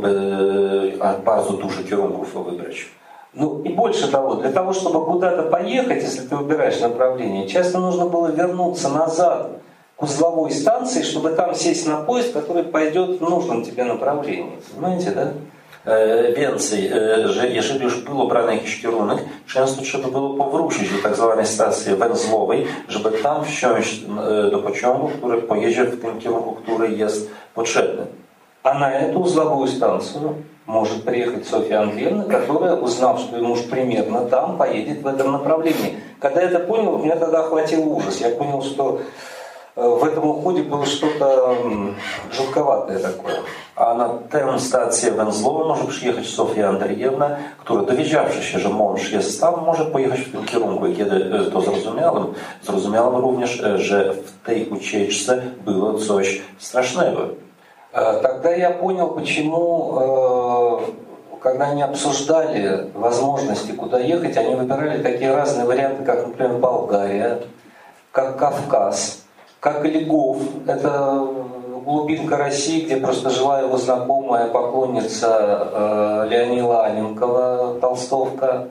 e, bardzo dużo kierunków wybrać. Ну и больше того, для того, чтобы куда-то поехать, если ты выбираешь направление, часто нужно было вернуться назад к узловой станции, чтобы там сесть на поезд, который пойдет в нужном тебе направлении. Понимаете, да? Więcej, że jeżeli już był obrany jakiś kierunek, często trzeba było powrócić do tak zwanej stacji węzłowej, żeby tam wsiąść do pociągu, który pojedzie w tym kierunku, który jest potrzebny. А на эту узловую станцию может приехать Софья Андреевна, которая, узнав, что ему уж примерно там, поедет в этом направлении. Когда я это понял, меня тогда охватил ужас. Я понял, что w tym uchodzie było что-то żółkowate такое. A na tę stację węzłową może przyjechać Sofia Andrzejewna, która dowiedziawszy się, że mąż jest tam, może pojechać w tym kierunku. I kiedy to zrozumiałem, zrozumiałem również, że w tej ucieczce było coś strasznego. Тогда я понял, почему, когда они обсуждали возможности, куда ехать, они выбирали такие разные варианты, как, например, Болгария, как Кавказ, как Львов. Это глубинка России, где просто жила его знакомая поклонница Леоніда Анненкова, толстовка.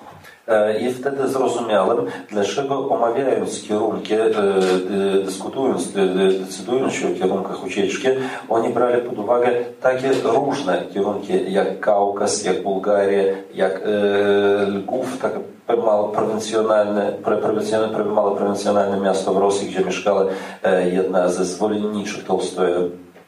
I wtedy zrozumiałem, dlaczego omawiając kierunki, dyskutując, decydując się o kierunkach ucieczki, oni brali pod uwagę takie różne kierunki, jak Kaukaz, jak Bułgaria, jak Lwów, takie mało prowincjonalne, mało prowincjonalne miasto w Rosji, gdzie mieszkała jedna ze zwolenniczych Толстоя.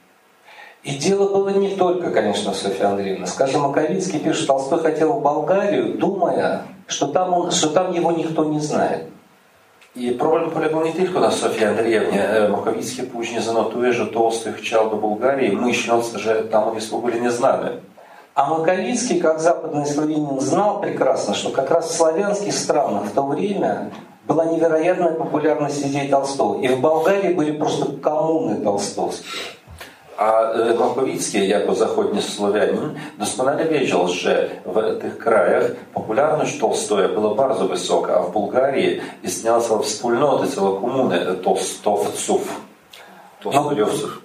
И дело было не только, конечно, Софья Андреевна. Скажем, Маковицкий пишет, Толстой хотел в Болгарию, думая, что там, он, что там его никто не знает. I problem polegał nie tylko na Sofii Andrzejewnie. Makowicki później zanotuje, że Толстой chciał do Bułgarii, myśląc, że tam on jest w ogóle nieznany. А Маковицкий, как западный славянин, знал прекрасно, что как раз в славянских странах в то время была невероятная популярность идей Толстого. И в Болгарии были просто коммуны толстовские. A Makowicki, jako zachodni Słowianin, doskonale wiedział, że w tych krajach popularność Толстоя była bardzo wysoka, a w Bułgarii istniała cała wspólnota, cała komuna tolstowców, tolstojowców.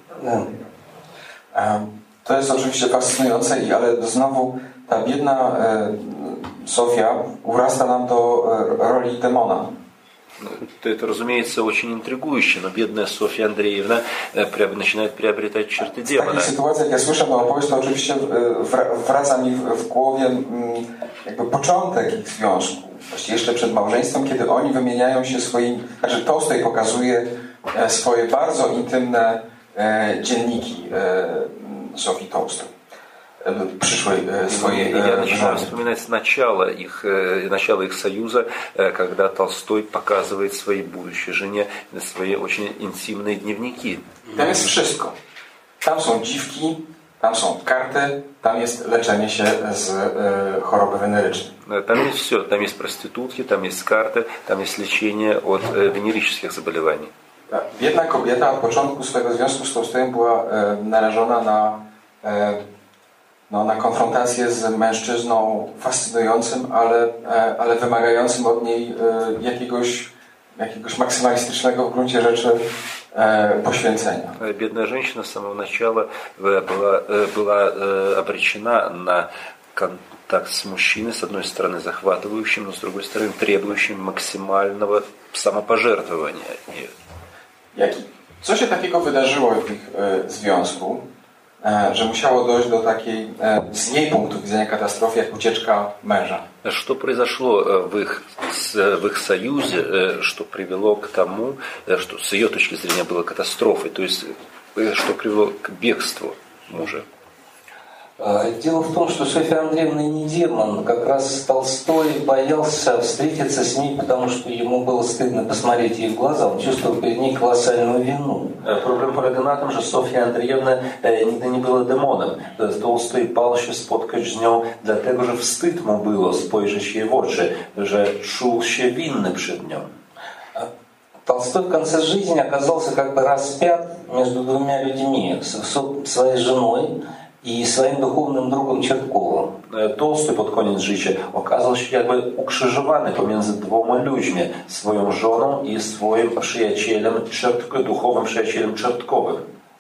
To jest oczywiście fascynujące, ale znowu ta biedna Sofia urasta nam do roli demona. Это, разумеется, очень интригующе, но бедная Софья Андреевна начинает приобретать черты демона. W takich sytuacjach, jak ja słyszę tę opowieść, to oczywiście wraca mi w głowie jakby początek ich związku. Właściwie jeszcze przed małżeństwem, kiedy oni wymieniają się swoimi... Znaczy Tolstoj pokazuje swoje bardzo intymne dzienniki Sofii Tolstoj. Przyszłej swojej Я начинаю вспоминать начало их, начало их союза, когда Толстой показывает своей будущей жене свои очень интимные дневники. Tam jest wszystko. Tam są dziwki, tam są karty, tam jest leczenie się z choroby wenerycznej. Там есть все. Там есть проститутки, там есть карты, там есть лечение от венерических заболеваний. Biedna kobieta od początku swojego związku z Tolstojem była e, narażona na, e, no, na konfrontację z mężczyzną fascynującym, ale, e, ale wymagającym od niej e, jakiegoś, jakiegoś maksymalistycznego w gruncie rzeczy e, poświęcenia. Бедная женщина с самого начала была, была обречена на контакт с мужчиной, с одной стороны захватывающим, но с другой стороны требующим максимального самопожертвования. Jaki? Co się takiego wydarzyło w ich e, związku, e, że musiało dojść do takiej, e, z jej punktu widzenia katastrofy, jak ucieczka męża? Что произошло в их, в их союзе, что привело к тому, что с ее точки зрения было катастрофой, то есть что привело к бегству мужа? Дело в том, что Софья Андреевна не демон. Как раз Толстой боялся встретиться с ней, потому что ему было стыдно посмотреть ей в глаза. Он чувствовал перед ней колоссальную вину. Problem polega na tym, że Sofia Andrzejewna nigdy nie była demonem. Tolstoj bał się spotkać z nią, dlatego że wstyd mu było spojrzeć jej w oczy, że czuł się winny przed nią. Толстой в конце жизни оказался как бы распят между двумя людьми, своей женой i swoim duchownym drugim Czertkowym. Tolstoj pod koniec życia okazał się jakby ukrzyżowany pomiędzy dwoma ludźmi, swoją żoną i swoim przyjacielem, duchowym przyjacielem Czertkowym.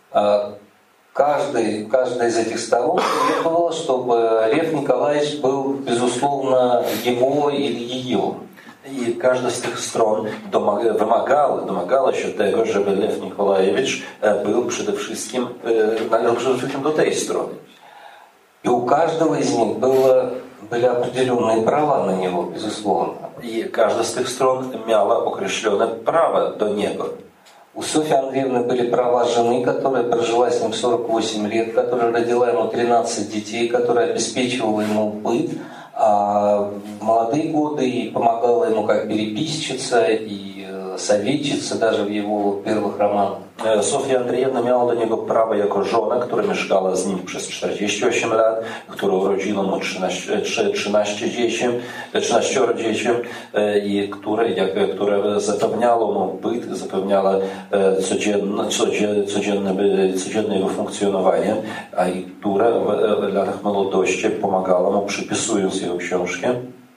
Каждый, каждая из этих сторон требовала, чтобы Лев Николаевич был, безусловно, его или ее. I każda z tych stron domaga, wymagała, domagała się tego, żeby Lew Nikolajewicz był przede wszystkim, należał przede wszystkim do tej strony. И у каждого из них было, были определенные права на него, безусловно. I każda z tych stron miała określone prawa do niego. У Софьи Андреевны были права жены, которая прожила с ним сорок восемь лет, которая родила ему тринадцать детей, которая обеспечивала ему быт, а в молодые годы и помогала ему как переписчица и советчица даже в его первых романах. Sofia Andrzejewna miała do niego prawo jako żona, która mieszkała z nim przez czterdzieści osiem lat, która urodziła mu trzynaście, trzynaście dzieci, trzynaście dzieci i które, jak, które zapewniało mu byt, zapewniała codzienne, codzienne, codzienne jego funkcjonowanie, a i która w latach młodości pomagała mu przypisując jego książki.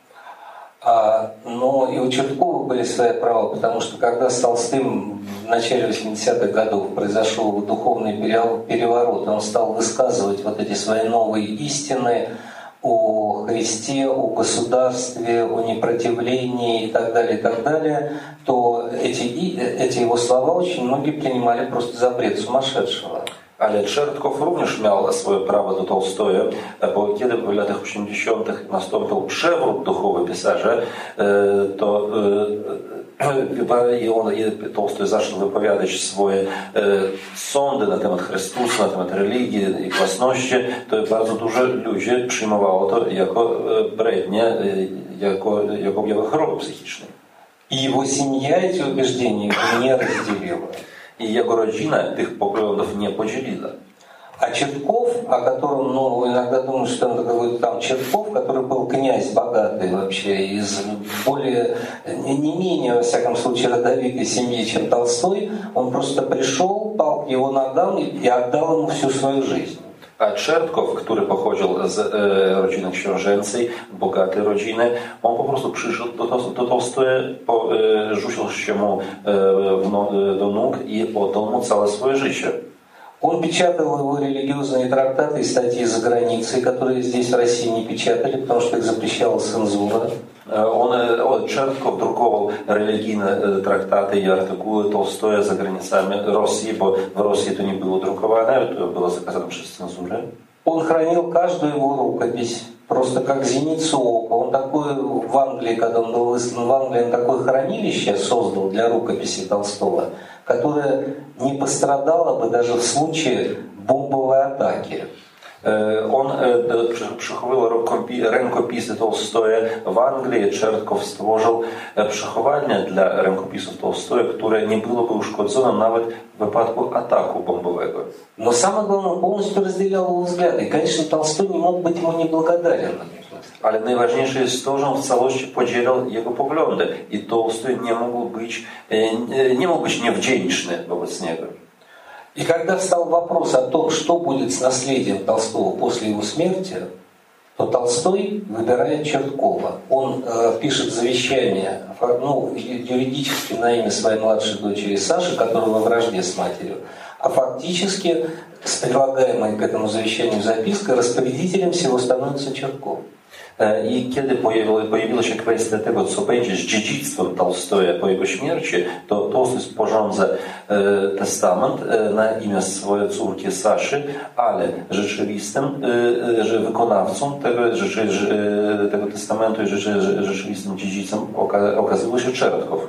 А, но и у Черткова были свои права, потому что когда с Толстым в начале восьмидесятых годов произошел духовный переворот, он стал высказывать вот эти свои новые истины о Христе, о государстве, о непротивлении и так далее, и так далее, то эти, эти его слова очень многие принимали просто за бред сумасшедшего. Ale Czertkow również miał swoje prawo do Tolstoja, bo kiedy w latach osiemdziesiątych nastąpił przewrót duchowy pisarza, to i on, i Tolstoj zaczął wypowiadać swoje sądy na temat Chrystusa, na temat religii i własności, to bardzo dużo ludzi przyjmowało to jako brednie, jako, jako objawy choroby psychicznej. I jego семья эти убеждения не разделила. I jego rodzina tych poglądów nie podzieliła. А Чертков, о котором, ну, иногда думают, что это какой-то там Чертков, который был князь богатый вообще, из более, не менее, во всяком случае, родовитой семьи, чем Толстой, он просто пришел, пал к его ногам и отдал ему всю свою жизнь. A Czertkow, który pochodził z e, rodziny książęcej, bogatej rodziny, on po prostu przyszedł do, do Tolstoja, po, e, rzucił się mu e, no, do nóg i oddał mu całe swoje życie. Он печатал его религиозные трактаты и статьи за границей, которые здесь в России не печатали, потому что их запрещала цензура. On, on Czertkow drukował religijne traktaty i artykuły Tolstoja za granicami Rosji, bo w Rosji to nie było drukowane, to było zakazane przez cenzurę. Он хранил каждую его рукопись, просто как зеницу ока. Он такой в Англии, когда он был выслан в Англии, он такое хранилище создал для рукописи Толстого, которое не пострадало бы даже в случае бомбовой атаки. On przechowywał rękopisy Tolstoja w Anglii. Czertkow stworzył przechowalnię dla rękopisów Tolstoja, które nie byłoby uszkodzone nawet w wypadku ataku bombowego. Но самое главное, он полностью разделял его взгляды. И, конечно, Толстой не мог быть ему неблагодарен. Ale najważniejsze jest to, że on w całości podzielał jego poglądy i Толстой nie mógł być, nie mógł być niewdzięczny wobec niego. И когда встал вопрос о том, что будет с наследием Толстого после его смерти, то Толстой выбирает Черткова. Он э, пишет завещание, ну, юридически на имя своей младшей дочери Саши, которая во вражде с матерью, а фактически с прилагаемой к этому завещанию запиской распорядителем всего становится Чертков. I kiedy pojawiła się kwestia tego, co będzie z dziedzictwem Толстоя po jego śmierci, to Толстой sporządza testament na imię swojej córki Saszy, ale rzeczywistym że wykonawcą tego, tego testamentu i rzeczywistym dziedzicem okazywał się Czertkow.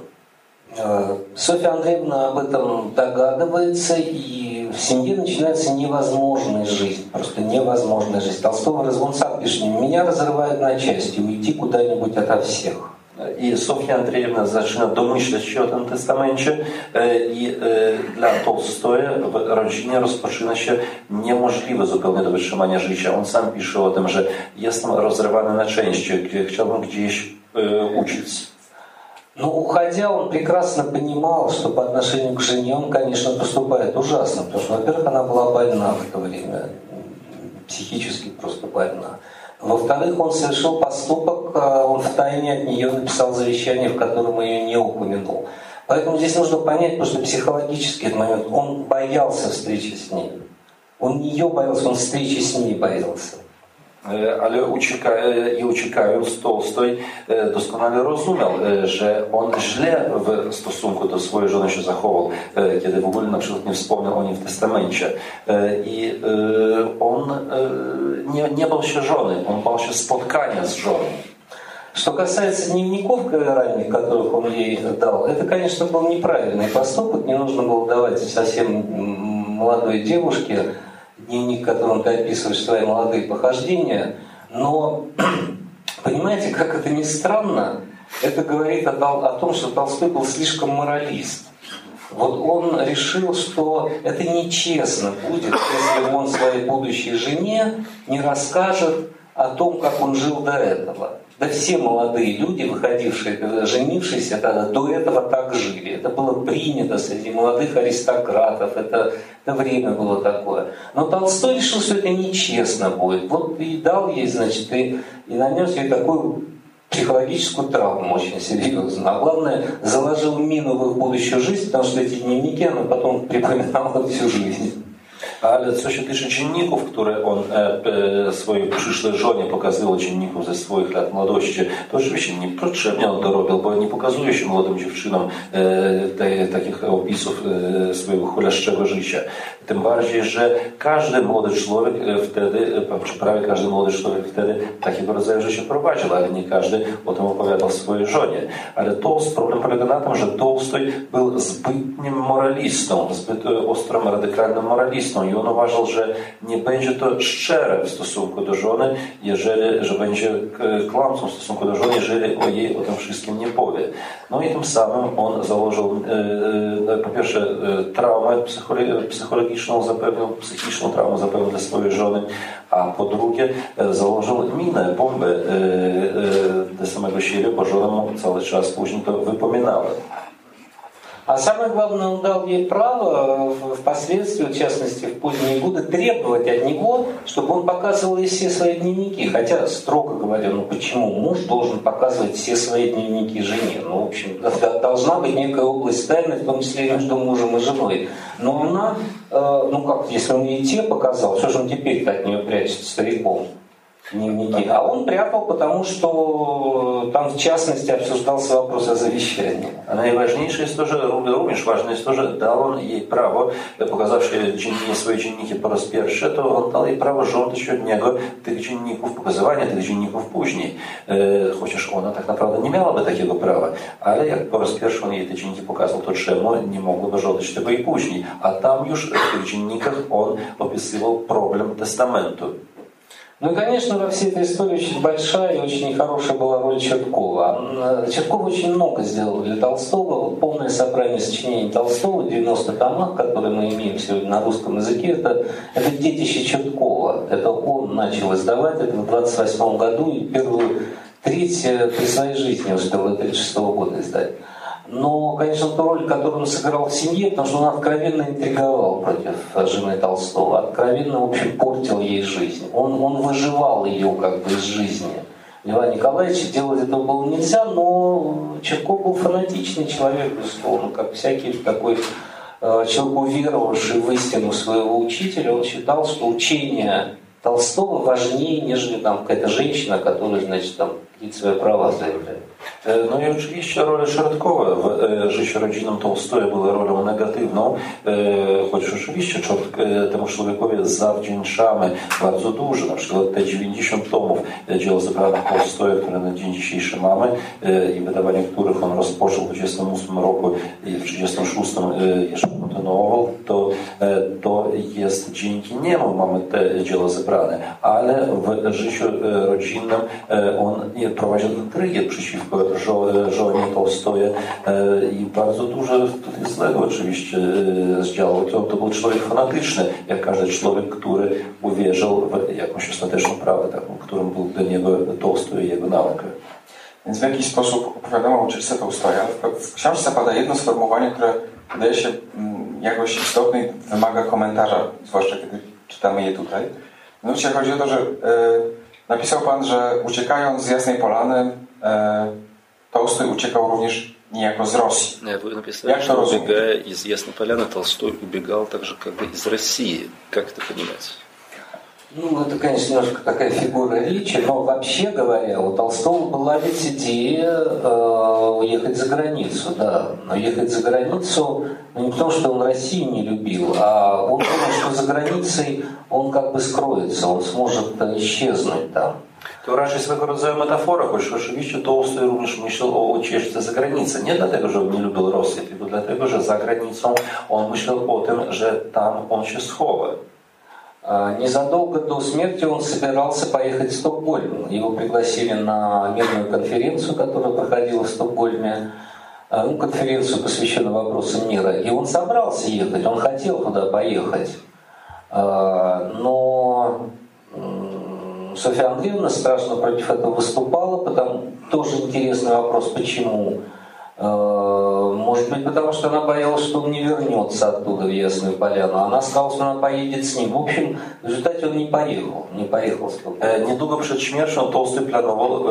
Софья Андреевна об этом догадывается, и в семье начинается невозможная жизнь, просто невозможная жизнь. Толстого он сам пишет: меня разрывают на части, уйти куда-нибудь ото всех. I Sofia Andrzejewna zaczyna domyślać się o tym testamencie i dla Толстоя w rodzinie rozpoczyna się niemożliwe zupełnie do wytrzymania życia. On sam pisze o tym, że jestem rozrywany na części, chciałbym gdzieś uciec. Но уходя, он прекрасно понимал, что по отношению к жене он, конечно, поступает ужасно, потому что, во-первых, она была больна в то время, психически просто больна. Во-вторых, он совершил поступок, он втайне от нее написал завещание, в котором ее не упомянул. Поэтому здесь нужно понять, потому что психологически этот момент, он боялся встречи с ней. Он не ее боялся, он встречи с ней боялся. Ale ucieka, i uciekając, Толстой doskonale rozumiał, że on źle w stosunku do swojej żony się zachował, kiedy w ogóle na przykład nie wspomniał o niej w testamencie. I on nie, nie bał się żony, on bał się spotkania z żoną. Что касается дневников ранних, которых он ей дал, это, конечно, был неправильный поступок, не нужно было давать совсем молодой девушке дневник, которым ты описываешь свои молодые похождения, но, понимаете, как это ни странно, это говорит о, о том, что Толстой был слишком моралист. Вот он решил, что это нечестно будет, если он своей будущей жене не расскажет о том, как он жил до этого. Да все молодые люди, выходившие, женившиеся, до этого так жили. Это было принято среди молодых аристократов, это, это время было такое. Но Толстой решил, что это нечестно будет. Вот и дал ей, значит, и, и нанес ей такую психологическую травму очень серьезно. А главное, заложил мину в их будущую жизнь, потому что эти dnevniki она потом припоминала всю жизнь. Ale co się tyczy dzienników, które on e, swojej przyszłej żonie pokazywał, dzienników ze swoich lat młodości, to oczywiście niepotrzebnie on to robił, bo nie pokazuje się młodym dziewczynom e, te, takich opisów e, swojego chuleszczego życia. Tym bardziej, że każdy młody człowiek wtedy, czy prawie każdy młody człowiek wtedy takiego rodzaju życie prowadził, ale nie każdy o tym opowiadał swojej żonie. Ale Толстой, problem polega na tym, że Толстой był zbytnim moralistą, zbyt ostrym, radykalnym moralistą i on uważał, że nie będzie to szczere w stosunku do żony, jeżeli, że będzie kłamcą w stosunku do żony, jeżeli o jej o tym wszystkim nie powie. No i tym samym on założył po pierwsze traumę psychologiczną, zapewnił, psychiczną traumę zapewnił dla swojej żony, a po drugie założył minę, bombę dla samego siebie, bo żona mu cały czas później to wypominała. А самое главное, он дал ей право впоследствии, в частности в поздние годы, требовать от него, чтобы он показывал ей все свои дневники. Хотя, строго говоря, ну почему муж должен показывать все свои дневники жене? Ну, в общем, должна быть некая область тайны, в том числе между мужем и женой. Но она, ну как, если он ей те показал, что же он теперь-то от нее прячет стариком? Дневники. А он прятал, потому что там в частности обсуждался вопрос о завещании. A najważniejsze jest to, że również ważne jest to, że dał on jej prawo, pokazawszy dziennie, swoje dzienniki po raz pierwszy, to on dał jej prawo żądać od niego tych dzienników, pokazywania tych dzienników później. Chociaż ona tak naprawdę nie miałaby takiego prawa. Ale jak po raz pierwszy on jej te dzienniki pokazał, to czemu nie mogłaby żądać tego i później. A tam już w tych dziennikach on opisywał problem testamentu. Ну и, конечно, во всей этой истории очень большая и очень нехорошая была роль Черткова. Чертков очень много сделал для Толстого. Полное собрание сочинений Толстого, девяносто томах, которые мы имеем сегодня на русском языке, это, это детище Черткова. Это он начал издавать, это в двадцать восьмом году, и первую треть при своей жизни успел до тридцать шестого года издать. Но, конечно, ту роль, которую он сыграл в семье, потому что он откровенно интриговал против жены Толстого, откровенно, в общем, портил ей жизнь. Он, он выживал ее как бы из жизни. Льва Николаевича делать этого было нельзя, но Чертков был фанатичный человек, безусловно, как всякий такой э, человек, уверовавший в истину своего учителя. Он считал, что учение Толстого важнее, нежели там какая-то женщина, которая, значит, там какие-то свои права заявляет. No i oczywiście rola Czortkowa w życiu rodzinnym Tolstoja była rolą negatywną, choć rzeczywiście temu człowiekowi zawdzięczamy bardzo dużo, na przykład te dziewięćdziesiąt tomów dzieł zebranych Tolstoja, które na dzień dzisiejszy mamy i wydawanie których on rozpoczął w dwudziestym ósmym roku i w trzydziestym szóstym jeszcze kontynuował, to, to jest dzięki niemu mamy te dzieła zebrane, ale w życiu rodzinnym on prowadził intrygię przeciwko żonie Tolstoja i bardzo dużo tutaj złego oczywiście zdziałał. To, to był człowiek fanatyczny, jak każdy człowiek, który uwierzył w jakąś ostateczną prawdę, taką, którą był dla niego Tolstoj i jego nauka. Więc w jakiś sposób opowiadamy o ucieczce Tolstoja. W książce pada jedno sformułowanie, które wydaje się jakoś istotne i wymaga komentarza, zwłaszcza kiedy czytamy je tutaj. Mianowicie chodzi o to, że e, napisał Pan, że uciekając z Jasnej Polany e, Толстой uciekał również niejako z Rosji. Вы написали, Jak to что rozumieć? убегая из Ясной Поляны, Толстой убегал также как бы из России. Как это понимать? Ну, это, конечно, немножко такая фигура речи, но вообще говоря, у Толстого была ведь идея э, уехать за границу, да. Но ехать за границу, ну, не потому, что он Россию не любил, а он думал, что за границей он как бы скроется, он сможет исчезнуть там. To raczej swego rodzaju metafora, choć oczywiście Tolstoj również myślał o ucieczce za granicę. Nie dlatego, że on nie lubił Rosji, tylko dlatego, że za granicą on myślał o tym, że tam on się schowa. Незадолго до смерти он собирался поехать в Стокгольм. Его пригласили на мирную конференцию, которая проходила в Стокгольме, ну, конференцию, посвященную вопросам мира. И он собрался ехать, он хотел туда поехать. Но Софья Андреевна страшно против этого выступала, потому тоже интересный вопрос, почему. Может быть, потому что она боялась, что он не вернется оттуда в Ясную Поляну. Она сказала, что она поедет с ним. В общем, в результате он не поехал. Не поехал. Niedługo przed śmiercią Tolstoj planował,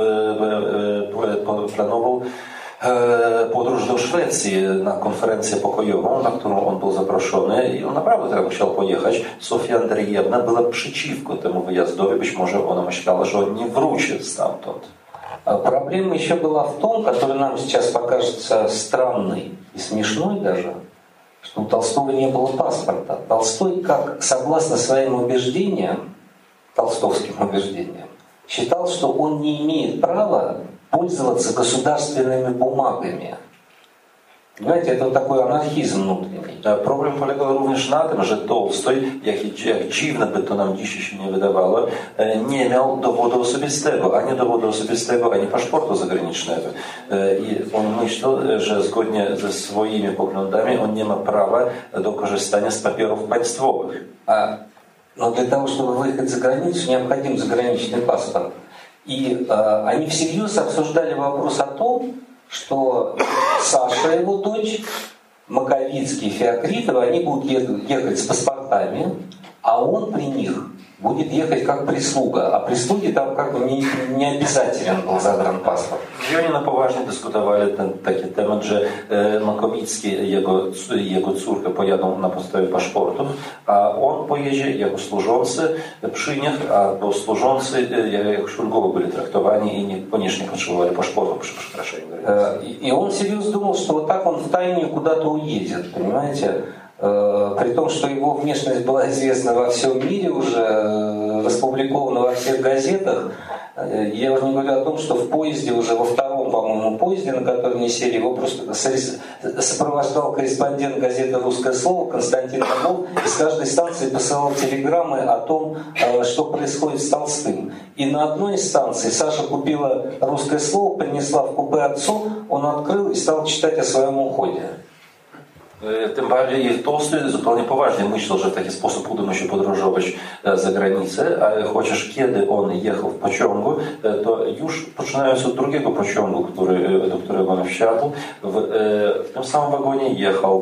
planował podróż do Szwecji na konferencję pokojową, na którą on był zaproszony i on naprawdę tam chciał pojechać. Sofia Andrzejewna była przeciwko temu wyjazdowi. Być może ona myślała, że on nie wróci stamtąd. Проблема еще была в том, которая нам сейчас покажется странной и смешной даже, что у Толстого не было паспорта. Толстой, как согласно своим убеждениям, толстовским убеждениям, считал, что он не имеет права пользоваться государственными бумагами. Powiedzcie, to taki anarchizm внутренний. Problem polegał również na tym, że Tolstoj, jak, jak dziwne by to nam dzisiaj się nie wydawało, nie miał dowodu osobistego, ani dowodu osobistego, ani paszportu zagranicznego. I on myślał, że zgodnie ze swoimi poglądami on nie ma prawa do korzystania z papierów państwowych. A, no для того, чтобы выехать за границу, необходим заграничный паспорт. И а, они всерьез обсуждали вопрос о том, что Саша, его дочь, Маковицкий, Феокритова, они будут ехать с паспортами, а он при них будет ехать как прислуга. А прислуге там как бы не, не обязателен был загранпаспорт. I oni na poważnie dyskutowali ten taki temat, że Makowicki i jego, jego córka pojadą na podstawie paszportów, a on pojedzie jako służący przy nich, a bo służący jakoś ulgowo byli traktowani i niekoniecznie potrzebowali paszportu przy przekraczaniu granicy. И он серьезно думал, что вот так он втайне куда-то уедет, понимаете? При том, что его внешность была известна во всем мире уже, распубликована во всех газетах, Я уже не говорю о том, что в поезде, уже во втором, по-моему, поезде, на который они сели, его просто сопровождал корреспондент газеты «Русское слово» Константин Орлов, и с каждой станции посылал телеграммы о том, что происходит с Толстым. И на одной из станций Саша купила «Русское слово», принесла в купе отцу, он открыл и стал читать о своем uchodzie. Tym bardziej Tolstoj zupełnie poważnie myślał, że w taki sposób uda mu się podróżować za granicę, a chociaż kiedy on jechał w pociągu, to już poczynając od drugiego pociągu, który, do którego on wsiadł, w, w tym samym wagonie jechał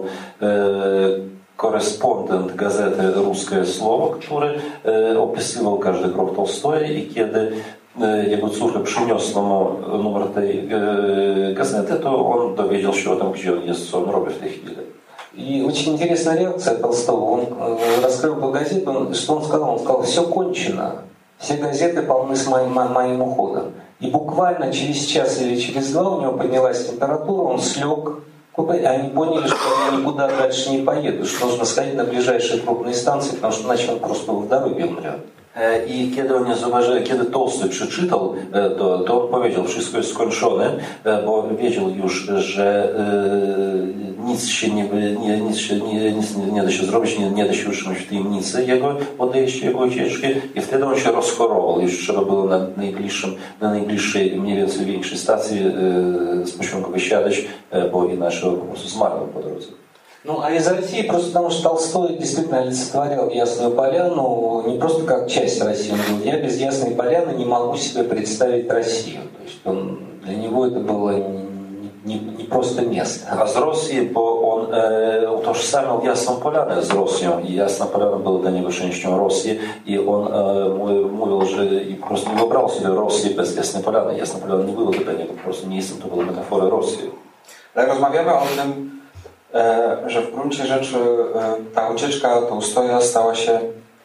korespondent gazety Ruskie Słowo, który opisywał każdy krok Tolstoja i kiedy jego córka przyniosła mu numer tej gazety, to on dowiedział się o tym, gdzie on jest, co on robi w tej chwili. И очень интересная реакция Толстого. Он раскрыл эту газету, он, что он сказал? Он сказал, все кончено, все газеты полны с моим, моим уходом. И буквально через час или через два у него поднялась температура, он слег, и они поняли, что они никуда дальше не поедут, что нужно сходить на ближайшие крупные станции, потому что иначе он просто в dorogie umrет. I kiedy on nie zauważył, kiedy Tolstoj przeczytał to, to on powiedział, wszystko jest skończone, bo wiedział już, że nic się nie, nie, nic się, nie, nic nie da się zrobić, nie, nie da się utrzymać w tajemnicy jego odejścia, jego ucieczki i wtedy on się rozchorował. Już trzeba było na najbliższym, na najbliższej, mniej więcej większej stacji z pociągu wysiadać, bo inaczej po prostu zmarł po drodze. Ну, а из России просто потому, что Толстой действительно олицетворял Ясную Поляну не просто как часть России. Он говорил, я без Ясной Поляны не могу себе представить Россию. То есть он, для него это было не, не, не просто место. A z Rosji, bo on e, utożsamiał Jasną Polanę z Rosją i Jasna Polana była dla niego częścią Rosji i on e, mówił, że i po prostu nie wyobrażał sobie Rosji bez Jasnej Polany. Jasna Polana nie była dla niego po prostu miejscem, to była metafora Rosji. Ale rozmawiamy o tym, że w gruncie rzeczy ta ucieczka Tolstoja stała się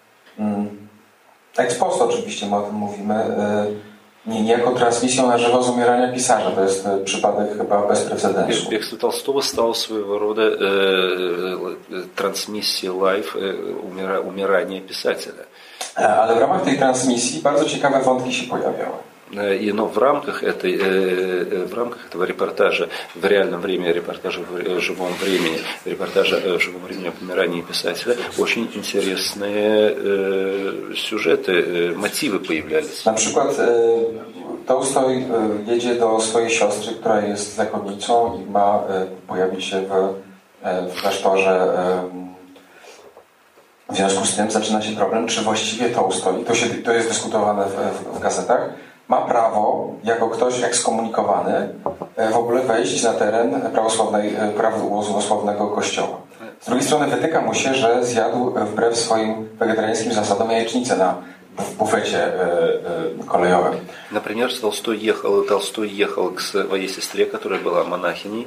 ex post, oczywiście my o tym mówimy, nie niejako transmisją na żywo z umierania pisarza. To jest przypadek chyba bez precedensu. Бегство Толстого стало своего рода э, трансмиссией лайв э, умирания писателя. Ale w ramach tej transmisji bardzo ciekawe wątki się pojawiały. И, но в рамках, этой, в рамках этого репортажа, в реальном времени, репортажа в живом времени, репортажа в живом времени о помирании писателя, очень интересные сюжеты, мотивы появлялись. Na przykład Tolstoj jedzie do swojej siostry, która jest zakonnicą i ma pojawić się w, w klasztorze. W związku z tym zaczyna się problem, czy właściwie Tolstoj, to, się, to jest dyskutowane w, w, w gazetach, ma prawo, jako ktoś ekskomunikowany, w ogóle wejść na teren prawosławnej, prawosławnego kościoła. Z drugiej strony wytyka mu się, że zjadł wbrew swoim wegetariańskim zasadom jajecznicę na w буфете kolejowym. Например, Толстой ехал, Толстой ехал к своей сестре, которая была монахиней,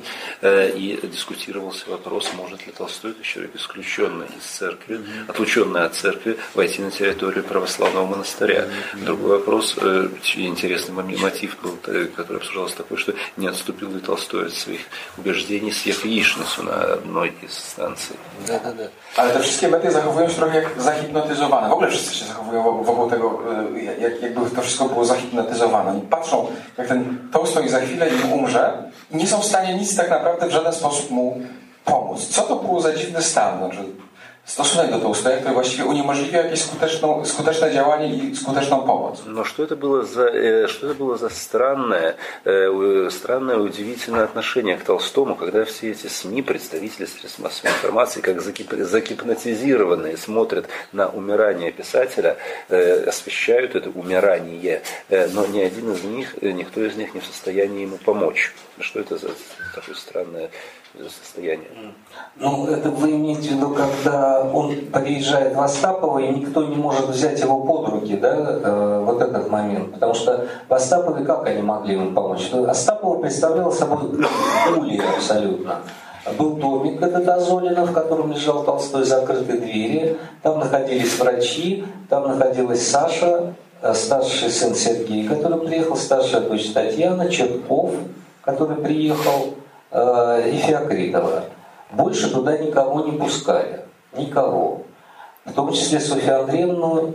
и дискутировался вопрос, может ли Толстой, как человек исключенный из церкви, отлученный от церкви, войти на территорию православного монастыря. Другой вопрос, интересный мотив был, который обсуждался такой, что не отступил ли Толстой от своих убеждений, съев яичницу на одной из станций. Да, да, да. Ale te wszystkie media zachowują się trochę jak zahipnotyzowane. W ogóle wszyscy się zachowują wokół tego, jak, jakby to wszystko było zahipnotyzowane. Oni patrzą, jak ten Tolstoj za chwilę im umrze i nie są w stanie nic tak naprawdę w żaden sposób mu pomóc. Co to było za dziwny stan? Znaczy, stosunek do Толстоя, który właściwie uniemożliwia jakieś skuteczną, skuteczne działanie i skuteczną pomoc. Но что это было за, что это было за странное, странное, удивительное отношение к Толстому, когда все эти СМИ, представители средств массовой информации, как загипнотизированные, смотрят на умирание писателя, освещают это умирание, но ни один из них, никто из них не в состоянии ему помочь. Что это за такое странное состояние? Ну, это вы имеете в виду, когда он приезжает в Остапово, и никто не может взять его под руки, да, э, вот этот момент. Потому что в Остапове как они могли ему помочь? Остапово представлял собой улей абсолютно. Был домик этот Азолина, в котором лежал Толстой, закрытые двери. Там находились врачи, там находилась Саша, старший сын Сергей, который приехал, старшая дочь Татьяна, Черков, который приехал, э, и Феокритова. Больше туда никого не пускали. Никого. В том числе Софью Андреевну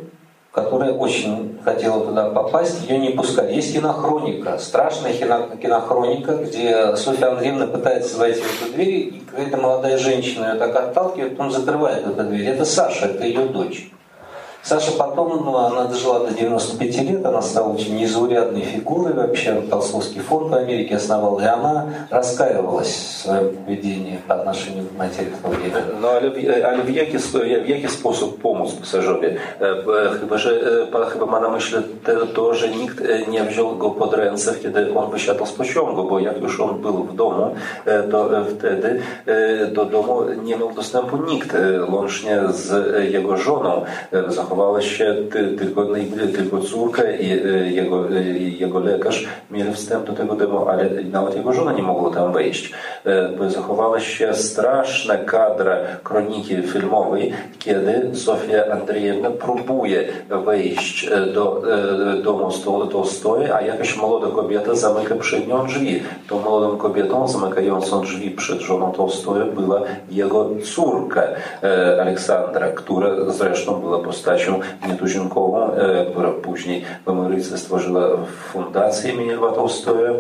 которая очень хотела туда попасть, ее не пускали. Есть кинохроника, страшная кинохроника, где Софья Андреевна пытается войти в эту дверь, и какая-то молодая женщина ее так отталкивает, потом закрывает эту дверь. Это Саша, это ее дочь. Саша потом, ну, она дожила до девяноста пяти лет, она стала очень незаурядной фигурой вообще, Толстовский фонд в Америке основала, и она раскаивалась в своем поведении по отношению к матери в то время. No ale w, ale w, jaki, w jaki sposób pomóc pasażerowi? Chyba, że chyba ma na myśli to, że nikt nie wziął go pod ręce, kiedy on wysiadał z pociągu, bo jak już on był w domu, to wtedy do domu nie miał dostępu nikt, łącznie z jego żoną. Zachowała się tylko, tylko córka i jego, jego lekarz mieli wstęp do tego domu, ale nawet jego żona nie mogła tam wejść. Zachowała się straszna kadra kroniki filmowej, kiedy Sofia Andrzejewna próbuje wejść do domu Tolstoja, a jakaś młoda kobieta zamyka przed nią drzwi. Tą młodą kobietą zamykającą drzwi przed żoną Tolstoja była jego córka Aleksandra, która zresztą była postacią nietuzinkową, która później w Ameryce stworzyła fundację imienia Lwa Толстоя.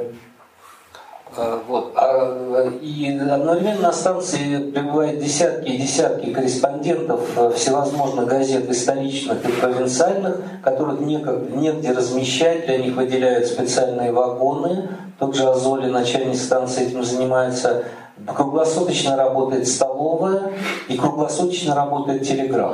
Вот. И одновременно на станции прибывают десятки и десятки корреспондентов всевозможных газет и столичных, и провинциальных, которых негде размещать, для них выделяют специальные вагоны. Тот же Азоли, начальник станции, этим занимается. Круглосуточно работает столовая и круглосуточно работает телеграф.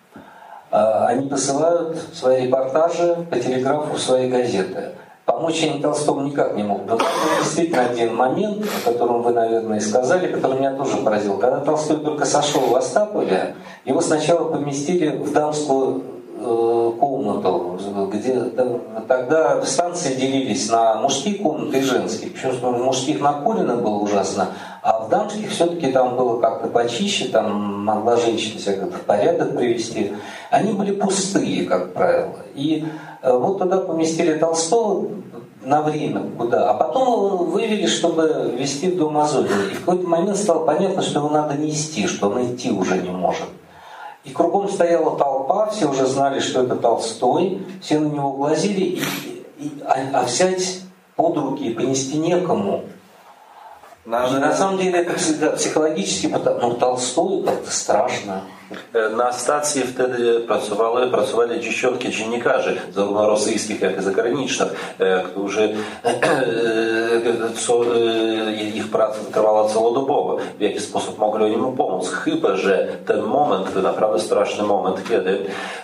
Они посылают свои репортажи по телеграфу в свои газеты. Помочь они Толстому никак не могут. Но действительно один момент, о котором вы, наверное, сказали, который меня тоже поразил. Когда Толстой только сошел в Остапове, его сначала поместили в дамскую э, комнату, где тогда станции делились на мужские комнаты и женские. Причем в мужских накурено было ужасно, а в дамских все-таки там было как-то почище, там могла женщина себя как-то в порядок привести. Они были пустые, как правило. И вот туда поместили Толстого на время, куда, а потом его вывели, чтобы везти в дом Азолина. И в какой-то момент стало понятно, что его надо нести, что он идти уже не может. И кругом стояла толпа, все уже знали, что это Толстой, все на него глазели, и, и, а, а взять под руки и понести некому. И на самом деле это всегда психологически, ну Толстой как-то страшно. Na stacji wtedy pracowały, pracowali dziesiątki dziennikarzy, zarówno rosyjskich, jak i zagranicznych, którzy co, ich praca trwała całodobowo. W jaki sposób mogli oni mu pomóc? Chyba że ten moment, ten naprawdę straszny moment, kiedy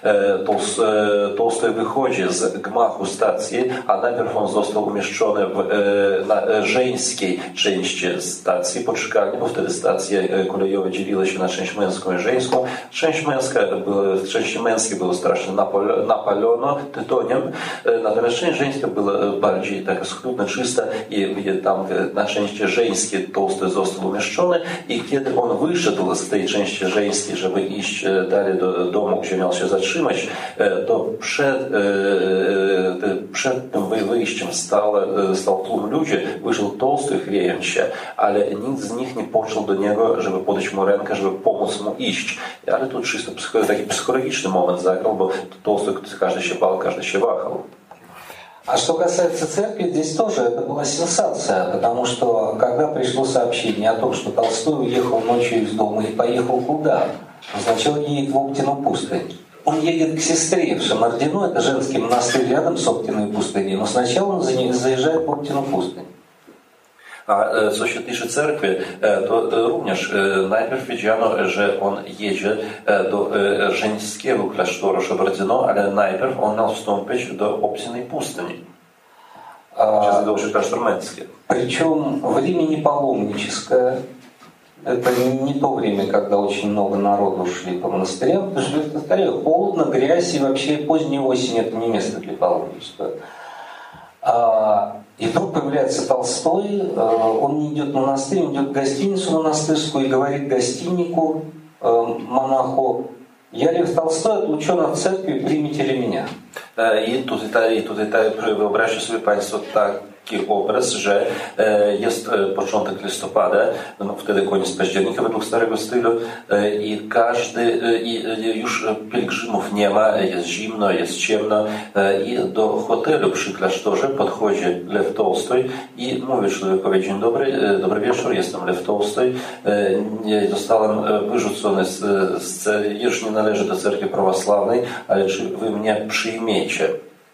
Tolstoj wychodzi z gmachu stacji, a najpierw on został umieszczony w na żeńskiej części stacji poczekalni, bo wtedy stacje kolejowe dzieliły się na część męską i żeńską. Część męska, w części męskiej było strasznie napalono tytoniem, natomiast część żeńska była bardziej taka schludna, czysta i tam na części żeńskiej Tolstoj został umieszczony i kiedy on wyszedł z tej części żeńskiej, żeby iść dalej do domu, gdzie miał się zatrzymać, to przed, przed tym wyjściem stał, stał tłum ludzi, wyszedł Tolstoj chwiejąc się, ale nikt z nich nie podszedł do niego, żeby podać mu rękę, żeby pomóc mu iść. Ale тут чисто taki psychologiczny moment zagrał, bo Толстой каждый się bał, каждый się wahał. А что касается церкви, здесь тоже это была сенсация, потому что когда пришло сообщение о том, что Толстой уехал ночью из дома и поехал куда? Он сначала едет в Оптину пустынь. Он едет к сестре в Шамардино, это женский монастырь рядом с Оптиной пустыней, но сначала он заезжает в Оптину пустынь. A co się tyczy cerkwi, to również najpierw wiedziano, że on jedzie do żeńskiego klasztoru Szabardino, ale najpierw on miał wstąpić do Optinej pustyni. Сейчас это уже кляштор мэнский. Причем время не паломническое. Это не то время, когда очень много народу шли по монастырям, потому что, повторяю, холодно, грязь и вообще поздняя осень – это не место для паломничества. И вдруг появляется Толстой, он не идет в монастырь, он идет в гостиницу монастырскую и говорит гостиннику, монаху: «Я, Лев Толстой, отлучен от церкви, примите ли меня?» I tutaj, i tutaj wyobraźcie sobie Państwo tak, taki obraz, że jest początek listopada, no wtedy koniec października według starego stylu i każdy, i już pielgrzymów nie ma, jest zimno, jest ciemno i do hotelu przy klasztorze podchodzi Lew Tolstoj i mówi człowiekowi: dzień dobry, dobry wieczór, jestem Lew Tolstoj, zostałem wyrzucony z, z już nie należy do cerkwi prawosławnej, ale czy wy mnie przyjmiecie?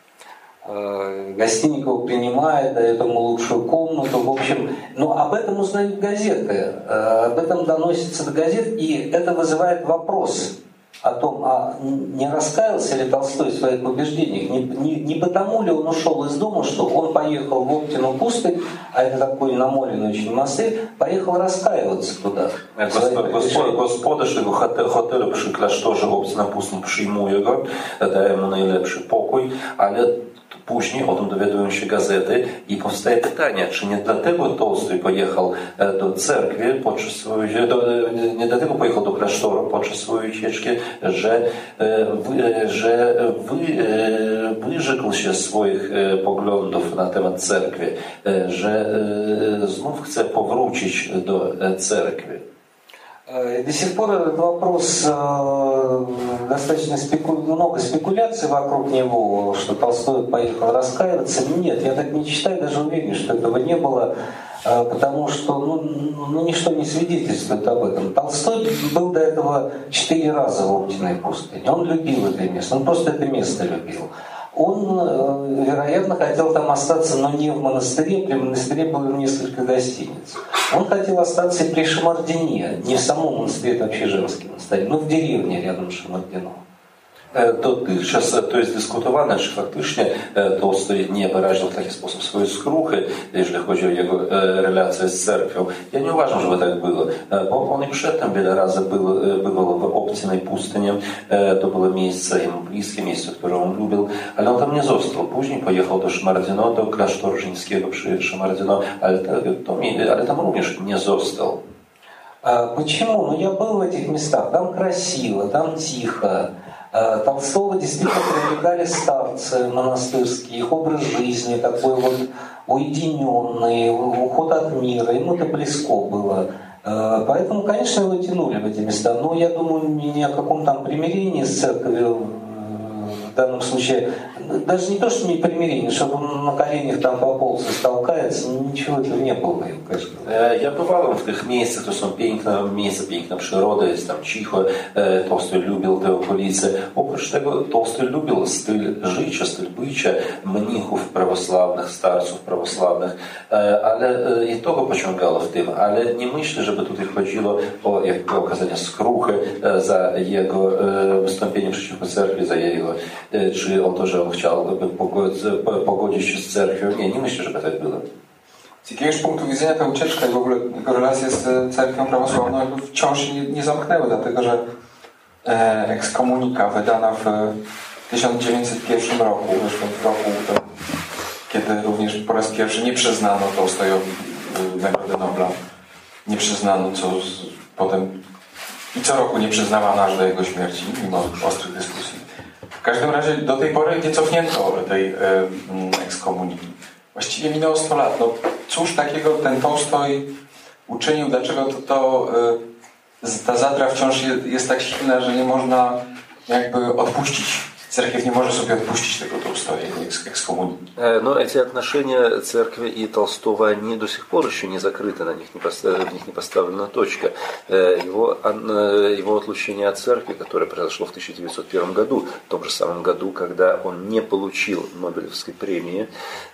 Гостиников принимает, дает ему лучшую комнату. В общем, но об этом узнают газеты, об этом доносится до газет, и это вызывает вопрос о том, а не раскаялся ли Толстой в своих убеждениях, не, не, не потому ли он ушел из дома, что он поехал в Оптину пустынь, а это такой намоленный очень монастырь, поехал раскаиваться туда. Gospodarz tego hotelu przy klasztorze Optina Pustyn przyjmuje go, daje mu najlepszy pokój, ale później o tym dowiadują się gazety i powstaje pytanie, czy nie dlatego Tolstoj pojechał do cerkwi podczas swojej, do, nie dlatego pojechał do klasztoru podczas swojej ucieczki, że, że wy, wyrzekł się swoich poglądów na temat cerkwi, że znów chce powrócić do cerkwi. До сих пор этот вопрос, достаточно спеку... много спекуляций вокруг него, что Толстой поехал раскаиваться. Нет, я так не считаю, даже уверен, что этого не было, потому что ну, ну, ничто не свидетельствует об этом. Толстой был до этого четыре раза в Оптиной пустыне. Он любил это место, он просто это место любил. Он, вероятно, хотел там остаться, но не в монастыре, при монастыре было несколько гостиниц. Он хотел остаться и при Шамардине, не в самом монастыре, это вообще женский монастырь, но в деревне рядом с Шамардином. Dotychczas to jest dyskutowane, czy faktycznie Tolstoj nie wyraził w taki sposób swojej skruchy, jeżeli chodzi o jego relacje z cerkwią. Ja nie uważam, żeby tak było, bo on i przedtem wiele razy był, bywał w Optinej pustyni. To było miejsce mu bliskie, miejsce, które on lubił, ale on tam nie został. Później pojechał do Szamardino, do klasztoru żeńskiego przy Szamardino, ale, to, ale tam również nie został. Почему? Ну, я был в этих местах, там красиво, там тихо. Толстого действительно привлекали старцы монастырские, их образ жизни такой вот уединенный, уход от мира, ему это близко было. Поэтому, конечно, его тянули в эти места, но я думаю, ни о каком там примирении с церковью в данном случае, даже не то, что не примирение, чтобы он на коленях там пополз и столкается, ничего этого nie było, конечно. Ja bywałem w tych miejscach, to są piękne miejsca, piękna przyroda, jest tam cicho, Tolstoj lubił te okolice. Oprócz tego Tolstoj lubił styl życia, styl bycia mnichów prawosławnych, starców prawosławnych, ale i to go pociągało w tym, ale nie myślę, żeby tutaj chodziło o jakby okazanie skruchy za jego wystąpienie przeciwko cerkwi, za jego, czy o to, że on chciałby pogodzić się z cerkwią. Nie, nie myślę, żeby tak było. Z jakiegoś punktu widzenia ta ucieczka i w ogóle jego relacje z cerkwią prawosławną jakby wciąż nie, nie zamknęły, dlatego że e, ekskomunika wydana w tysiąc dziewięćset pierwszym roku, zresztą w roku, to, kiedy również po raz pierwszy nie przyznano Tolstojowi Nagrody Nobla, nie przyznano, co z, potem i co roku nie przyznawano aż do jego śmierci, mimo ostrych dyskusji. W każdym razie do tej pory nie cofnięto tej e, ekskomuniki. Właściwie minęło sto lat. No, cóż takiego ten Tolstoj uczynił? Dlaczego to, to y, ta zadra wciąż jest, jest tak silna, że nie można jakby odpuścić? Cerkiew nie może sobie odpuścić tego Толстоя, экскоммуники. Но эти отношения церкви и Толстого, они до сих пор еще не закрыты, на них не поставлена, в них не поставлена точка. Его, его отлучение от церкви, которое произошло в тысяча девятьсот первом году, в том же самом году, когда он не получил Нобелевской премии,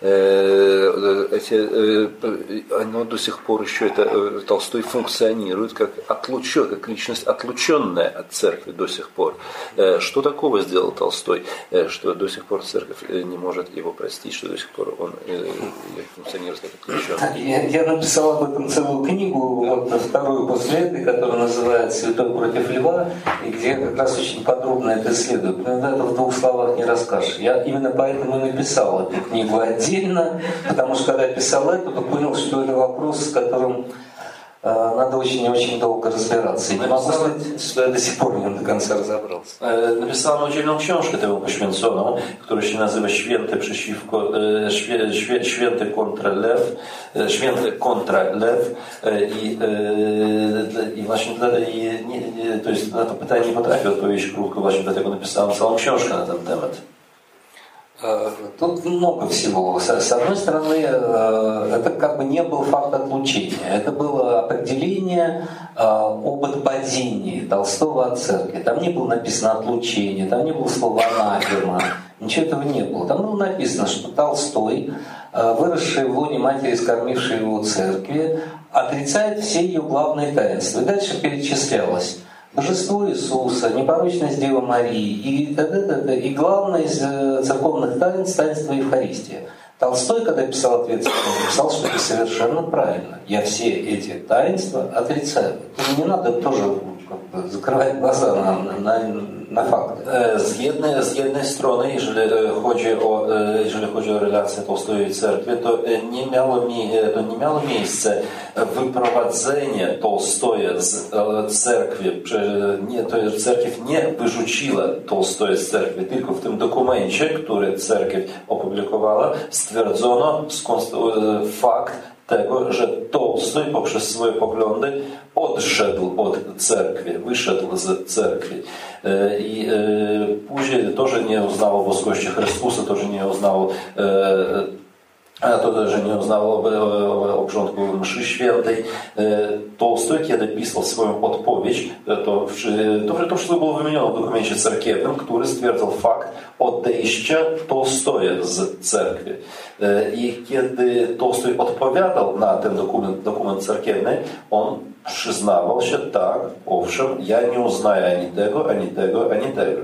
эти, оно до сих пор еще, это, Толстой функционирует как, отлучен, как личность, отлученная от церкви до сих пор. Что такого сделал Толстой? Что до сих пор церковь не может его простить, что до сих пор он функционирует как отключенный. Я, я написал об этом целую книгу, вот вторую после этой, которая называется «Святой против льва», и где я как раз очень подробно это исследую. Но это в двух словах не расскажешь. Я именно поэтому и написал эту книгу отдельно, потому что когда я писал эту, то понял, что это вопрос, с которым Надо очень-очень долго разбираться. И не могу сказать, что я до сих пор в нем до конца разобрался. Napisano oddzielną książkę temu poświęconą, która się nazywa Święty przeciwko, świe, świe, Święty kontra Lew, Święty kontra Lew i, i właśnie dla, i nie, to jest na to pytanie nie potrafię odpowiedzieć krótko, właśnie dlatego napisałem całą książkę na ten temat. Тут много всего. С одной стороны, это как бы не был факт отлучения, это было определение об отпадении Толстого от церкви. Там не было написано отлучение, там не было слова анафема, ничего этого не было. Там было написано, что Толстой, выросший в лоне матери, скормивший его церкви, отрицает все ее главные таинства. И дальше перечислялось Божество Иисуса, непорочность Девы Марии и, т.д. и главное из церковных таинств – таинство Евхаристия. Толстой, когда писал ответ, написал, что это совершенно правильно. Я все эти таинства отрицаю. Не надо тоже как бы закрывать глаза на, на, na fakty. Z jednej, z jednej strony, jeżeli chodzi o, jeżeli chodzi o relacje Tolstoja i cerkwi, to nie miało, to nie miało miejsca wyprowadzenie Tolstoja z cerkwi. Nie, to jest, cerkiew nie wyrzuciła Tolstoja z cerkwi, tylko w tym dokumencie, który cerkiew opublikowała, stwierdzono fakt tego, że Tolstoj poprzez swoje poglądy odszedł od cerkwi, wyszedł z cerkwi. I później to, że nie uznało boskości Chrystusa, to, że nie uznało a to, że nie uznało obrządku mszy świętej. Tolstoj, kiedy pisał swoją odpowiedź, to, to, to wszystko było wymienione w dokumencie cerkiewnym, który stwierdzał fakt odejścia Tolstoja z cerkwi. I kiedy Tolstoj odpowiadał na ten dokument, dokument cerkiewny, on przyznawał się, tak, owszem, ja nie uznaję ani tego, ani tego, ani tego.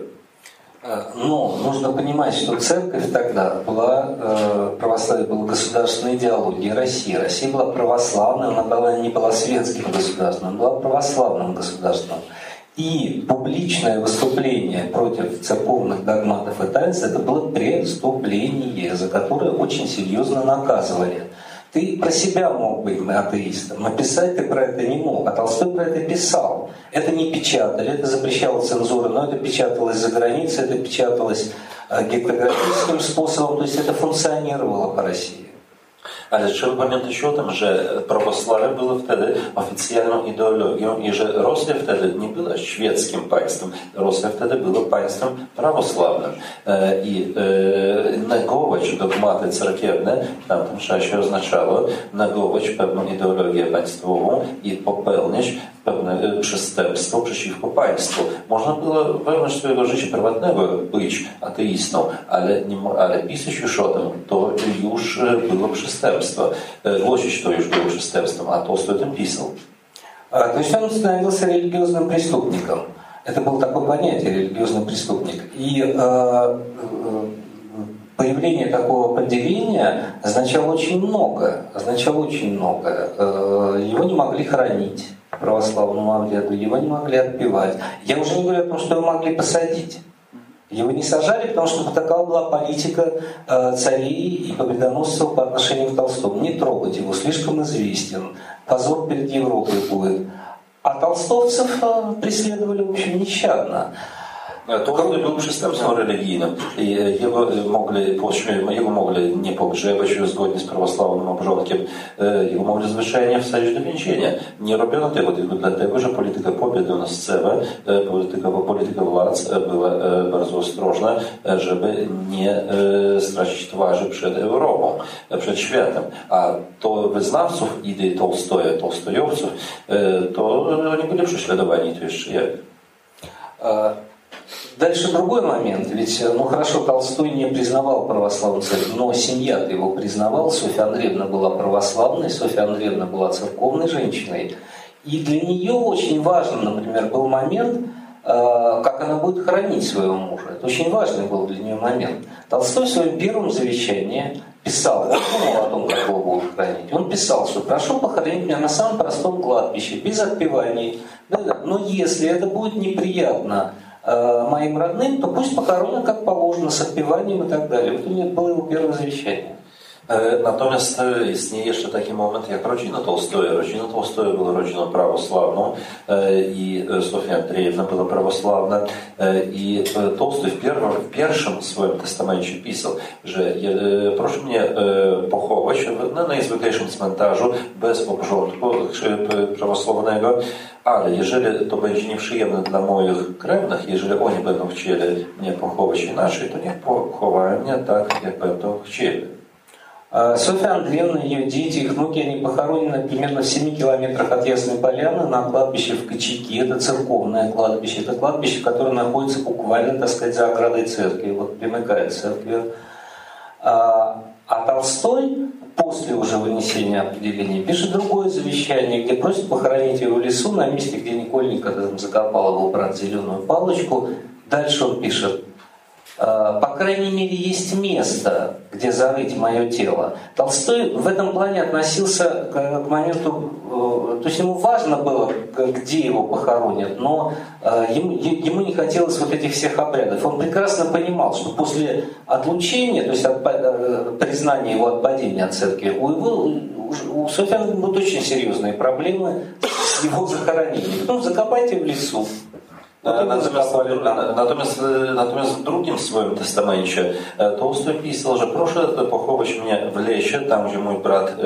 Но нужно понимать, что церковь тогда была, православие было государственной идеологией России. Россия была православной, она была, не была светским государством, она была православным государством. И публичное выступление против церковных догматов и таинств это было преступление, за которое очень серьезно наказывали. Ты про себя мог быть атеистом, но писать ты про это не мог. А Толстой про это писал. Это не печатали, это запрещала цензура, но это печаталось за границей, это печаталось гектографическим способом, то есть это функционировало по России. Ale trzeba pamiętać o tym, że prawosławie było wtedy oficjalną ideologią i że Rosja wtedy nie była świeckim państwem. Rosja wtedy była państwem prawosławnym. I negować dogmaty cerkiewne w tamtym czasie oznaczało negować pewną ideologię państwową i popełniać pewne przestępstwo przeciwko państwu. Można było wewnątrz swojego życia prywatnego być ateistą, ale, nie, ale pisać już o tym, to już było przestępstwo. Głosić to już było przestępstwem, a Tolstoj o tym pisał. То есть он становился религиозным преступником. Это было такое понятие, религиозный преступник. И э, появление такого определения означало очень много. Означало очень много. Э, его не могли хранить в православном обряду, его не могли отпевать. Я уже не говорю о том, что его могли посадить. Его не сажали, потому что такова была политика э, царей и победоносцев по отношению к Толстому. Не трогать его, слишком известен. Позор перед Европой будет. А толстовцев э, преследовали, в общем, нещадно. Толстой był przestępcą religijnym i jego mogli, jego mogli nie pogrzebać zgodnie z prawosławnym obrządkiem, jego mogli zwyczajnie wsadzić do więzienia. Nie robiono tego tylko dlatego, że polityka pobiedonoscewa, polityka, polityka władz była bardzo ostrożna, żeby nie stracić twarzy przed Europą, przed światem. A to wyznawców idei Tolstoja, tolstojowców, to oni byli prześladowani, to jeszcze jak. Дальше другой момент. Ведь, ну хорошо, Толстой не признавал православную церковь, но семья-то его признавала. Софья Андреевна была православной, Софья Андреевна была церковной женщиной. И для нее очень важным, например, был момент, как она будет хоронить своего мужа. Это очень важный был для нее момент. Толстой в своем первом завещании писал, он думал о том, как его будут хоронить. Он писал, что прошу похоронить меня на самом простом кладбище, без отпеваний. Да-да. Но если это будет неприятно моим родным, то пусть похоронят как положено, с отпеванием и так далее. Вот у него было его первое завещание. Natomiast istnieje jeszcze taki moment jak rodzina Tolstoja. Rodzina Tolstoja była rodziną prawosławną i Sofia Andrzejewna była prawosławna i Tolstoj w, pier w pierwszym swoim testamencie pisał, że proszę mnie pochować na najzwyklejszym cmentarzu bez obrządku prawosławnego, ale jeżeli to będzie nieprzyjemne dla moich krewnych, jeżeli oni będą chcieli mnie pochować inaczej, to niech pochowają mnie tak, jak będą chcieli. Софья Андреевна, ее дети, их внуки, они похоронены примерно в семи километрах от Ясной Поляны на кладбище в Кочаки. Это церковное кладбище. Это кладбище, которое находится буквально, так сказать, за оградой церкви, вот примыкает к церкви. А, а Толстой после уже вынесения определения пишет другое завещание, где просит похоронить его в лесу, на месте, где Никольник там закопал его брат зеленую палочку. Дальше он пишет: по крайней мере, есть место, где зарыть мое тело. Толстой в этом плане относился к моменту, то есть ему важно было, где его похоронят, но ему, ему не хотелось вот этих всех обрядов. Он прекрасно понимал, что после отлучения, то есть от признания его отпадения от церкви, у, его, у Софьи будут очень серьезные проблемы с его захоронением. Ну, закопайте в лесу. Natomiast, natomiast, natomiast w drugim swoim testamencie Tolstoj pisał, że proszę pochować mnie w lesie, tam gdzie mój brat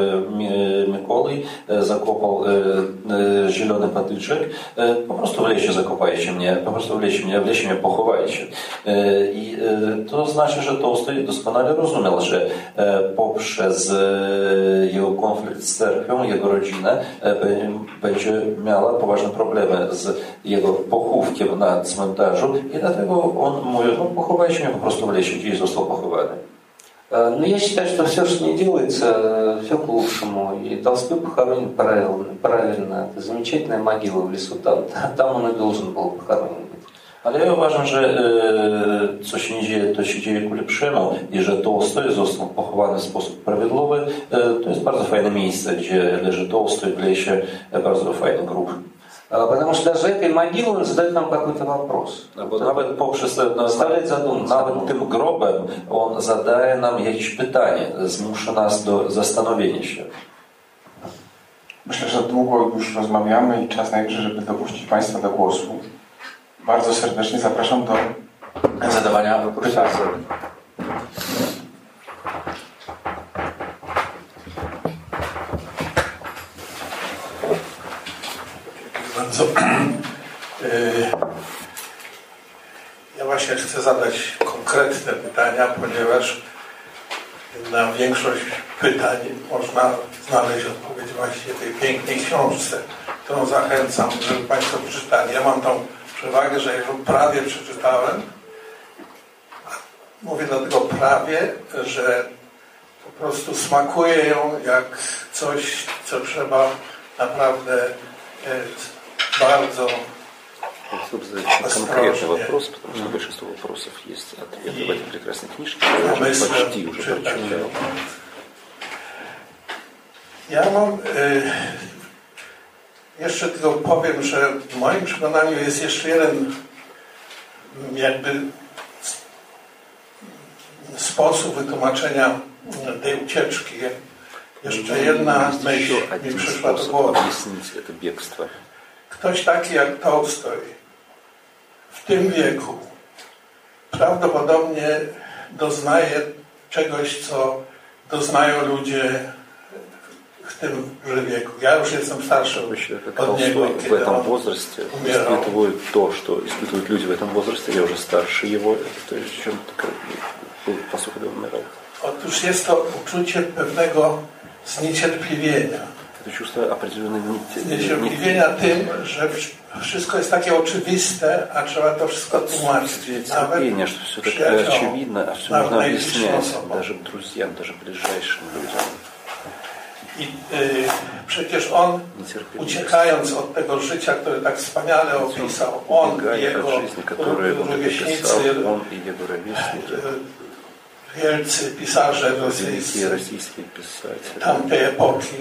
Mikołaj zakopał zielony patyczek. Po prostu w lesie zakopajcie mnie, po prostu w lesie mnie, w lesie mnie pochowajcie. I to znaczy, że Tolstoj doskonale rozumiał, że poprzez jego konflikt z cerkwią, jego rodzinę będzie miała poważne problemy z jego pochówkiem na cmentarzu i dlatego on mówi, no pochowajcie mnie po prostu w lesie, gdzie został pochowany. Ну, я считаю, что все, что не делается, все к лучшему. И Толстой похоронен правильно. правильно. Это замечательная могила в лесу. Там, там он и должен был похоронен быть. Ale ja uważam, że e, co się nie dzieje, to się dzieje ku lepszemu i że Tolstoj został pochowany w sposób prawidłowy. E, to jest bardzo fajne miejsce, gdzie leży Tolstoj w lesie, e, bardzo fajny grób. Потому что даже этой могилой он задает нам какой-то вопрос. Bo nawet poprzez nawet tym grobem on zadaje nam jakieś pytanie, zmusza nas do zastanowienia się. Myślę, że długo już rozmawiamy i czas najwyższy, żeby dopuścić Państwa do głosu. Bardzo serdecznie zapraszam do zadawania pytań. Bardzo. Ja właśnie chcę zadać konkretne pytania, ponieważ na większość pytań można znaleźć odpowiedź właśnie w tej pięknej książce, którą zachęcam, żeby Państwo przeczytali. Ja mam tą przewagę, że ją prawie przeczytałem. Mówię dlatego prawie, że po prostu smakuje ją jak coś, co trzeba naprawdę bardzo Чтобы задать конкретный вопрос, потому что большинство вопросов есть ответы в этой прекрасной книжке, я уже почти уже прочитал. Ja mam y, jeszcze tylko powiem, że w moim przekonaniu jest jeszcze jeden jakby sposób wytłumaczenia tej ucieczki. Jeszcze jedna myśl mi przyszła do głowy. Ktoś taki jak Tolstoj w tym wieku prawdopodobnie doznaje czegoś, co doznają ludzie w tymże wieku. Ja już jestem starszy od niego, в этом возрасте испытывают то, что испытывают люди в этом возрасте. Я уже старше его, то есть чем по сути умирал. Otóż jest to uczucie pewnego zniecierpliwienia. Это чувство определенной Zniecierpliwienia tym, że wszystko jest takie oczywiste, a trzeba to wszystko tłumaczyć. Терпение, что все так очевидно, а все нужно объяснять даже друзьям, даже ближайшим людям. I y, przecież on, uciekając od tego życia, które tak wspaniale opisał, on i jego rówieśnicy, wielcy pisarze rosyjscy tamtej epoki,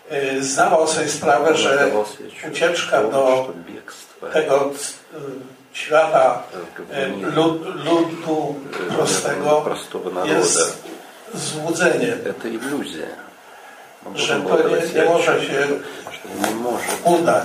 zdawał sobie sprawę, że ucieczka do tego świata lud, ludu prostego jest złudzenie, że to nie, nie może się udać.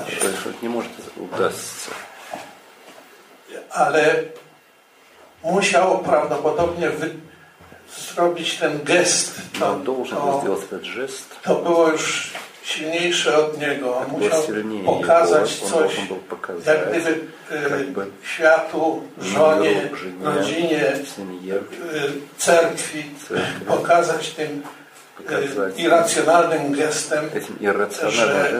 Ale musiał prawdopodobnie wy, zrobić ten gest. To, to, to było już silniejsze od niego. On musiał pokazać coś, jak gdyby światu, żonie, rodzinie, cerkwi, pokazać tym irracjonalnym gestem, że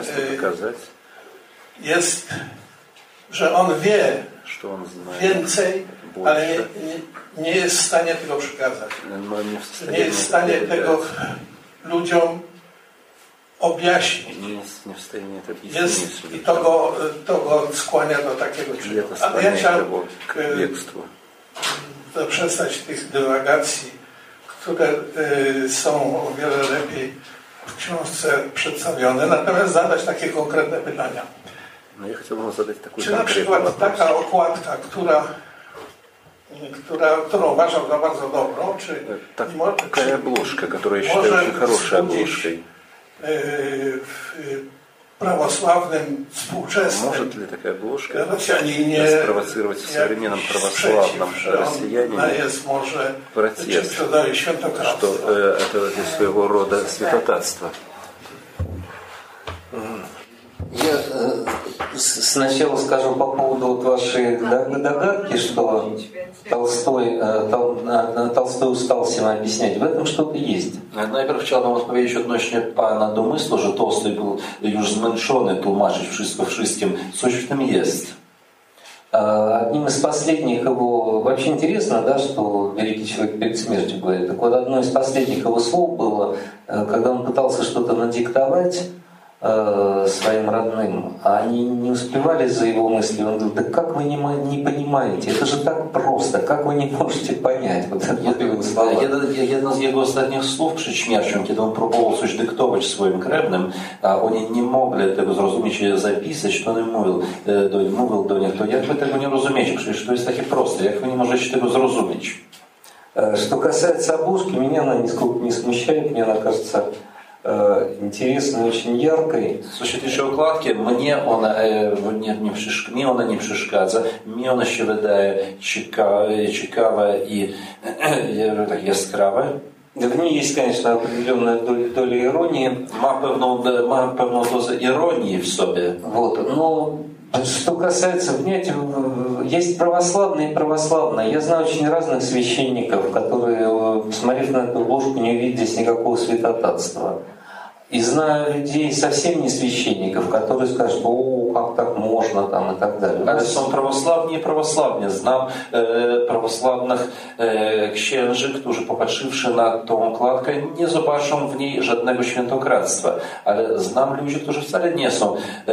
jest, że on wie więcej, ale nie, nie, nie jest w stanie tego przekazać. Nie jest w stanie tego ludziom objaśnić. Jest, I to go, to go skłania do takiego czynu. Ale ja chciałem zaprzestać tych dywagacji, które y, są o wiele lepiej w książce przedstawione, natomiast zadać takie konkretne pytania. No ja chciałbym zadać taką Czy na przykład taka okładka, która, która, którą uważam za bardzo dobrą, czy tak, такая обложка, которую я считаю очень хорошей обложкой. W prawosławnym współczesnym Может ли такая обложка Rosjaninie спровоцировать в современном православном россиянине jest może протест, świętokradstwa. что э, это есть своего рода святотатство? Я э, сначала скажу по поводу вот вашей догадки, что Толстой, э, Тол, э, Толстой устал всем объяснять. В этом что-то есть. Najpierw chciałbym odpowiedzieć odnośnie pana domysłu, że Tolstoj był już zmęczony tłumaczyć wszystko wszystkim. Coś w tym jest. Одним из последних его... Вообще интересно, да, что великий человек перед смертью говорит. Так вот, одно из последних его слов было, когда он пытался что-то надиктовать своим родным, а они не успевали за его мысли. Он говорил: да как вы не, не понимаете, это же так просто, как вы не можете понять вот это его слова. Jedno z jego ostatnich słów przed śmiercią, kiedy on próbował coś dyktować swoim krewnym, a oni nie mogli tego zrozumieć i zapisać, to on mówił do, mówił do nich: to jak wy tego nie rozumiecie, przecież to jest takie proste, jak wy nie możecie tego zrozumieć. Что касается обложки, меня она нисколько не смущает, мне она кажется интересной, очень яркой. Co się tyczy okładki, mnie ona nie, nie, mnie ona nie przeszkadza. Mnie ona się wydaje ciekawa, ciekawa i tak jaskrawa. В ней есть, конечно, определенная доля, доля иронии. Ma pewną, ma pewną dozę ironii w sobie. Вот, но что касается, понимаете, есть православные и православные. Я знаю очень разных священников, которые, посмотрев на эту обложку, не увидят здесь никакого святотатства. И знаю людей, совсем не священников, которые скажут: о, как так можно, там, и так dalej. Ale są prawosławni i prawosławni. Znam e, prawosławnych e, księży, którzy popatrzywszy na tą okładkę, nie zobaczą w niej żadnego świętokradztwa. Ale znam ludzi, którzy wcale nie są e,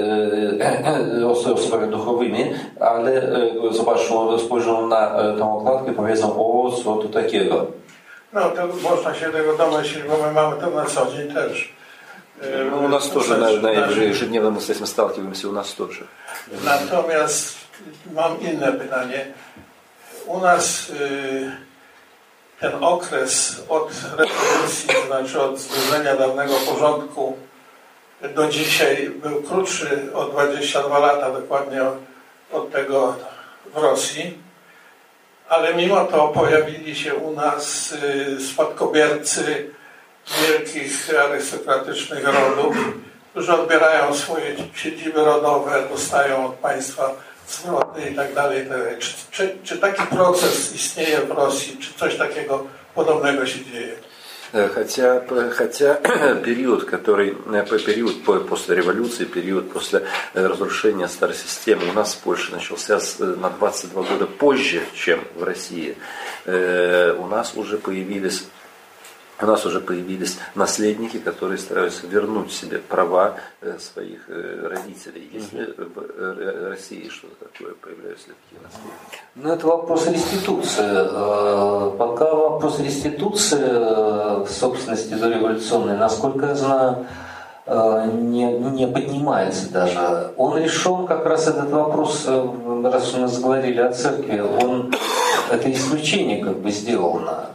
e, osobami duchowymi, ale e, zobaczą, spojrzą na e, tą okładkę i powiedzą: o, co tu takiego. No, to można się tego domyślić, bo my mamy to na co dzień też. No, u nas тоже, на, на ежедневно мы с этим сталкиваемся, у нас тоже. Natomiast mam inne pytanie. U nas y, ten okres od rewolucji, to znaczy od zburzenia dawnego porządku do dzisiaj był krótszy o dwadzieścia dwa lata dokładnie od, od tego w Rosji. Ale mimo to pojawili się u nas spadkobiercy wielkich arystokratycznych rodów, którzy odbierają swoje siedziby rodowe, dostają od państwa zwroty i tak dalej. Czy, czy, czy taki proces istnieje w Rosji? Czy coś takiego podobnego się dzieje? Хотя, хотя период, который, период после революции, период после разрушения старой системы у нас в Польше начался на двадцать два года позже, чем в России. У нас уже появились У нас уже появились наследники, которые стараются вернуть себе права своих родителей. Если в России что-то такое появляются такие наследники? Ну, это вопрос реституции. Пока вопрос реституции собственности дореволюционной, насколько я знаю, не, не поднимается даже. Он решен, как раз этот вопрос раз у нас говорили о церкви, он это исключение как бы сделано.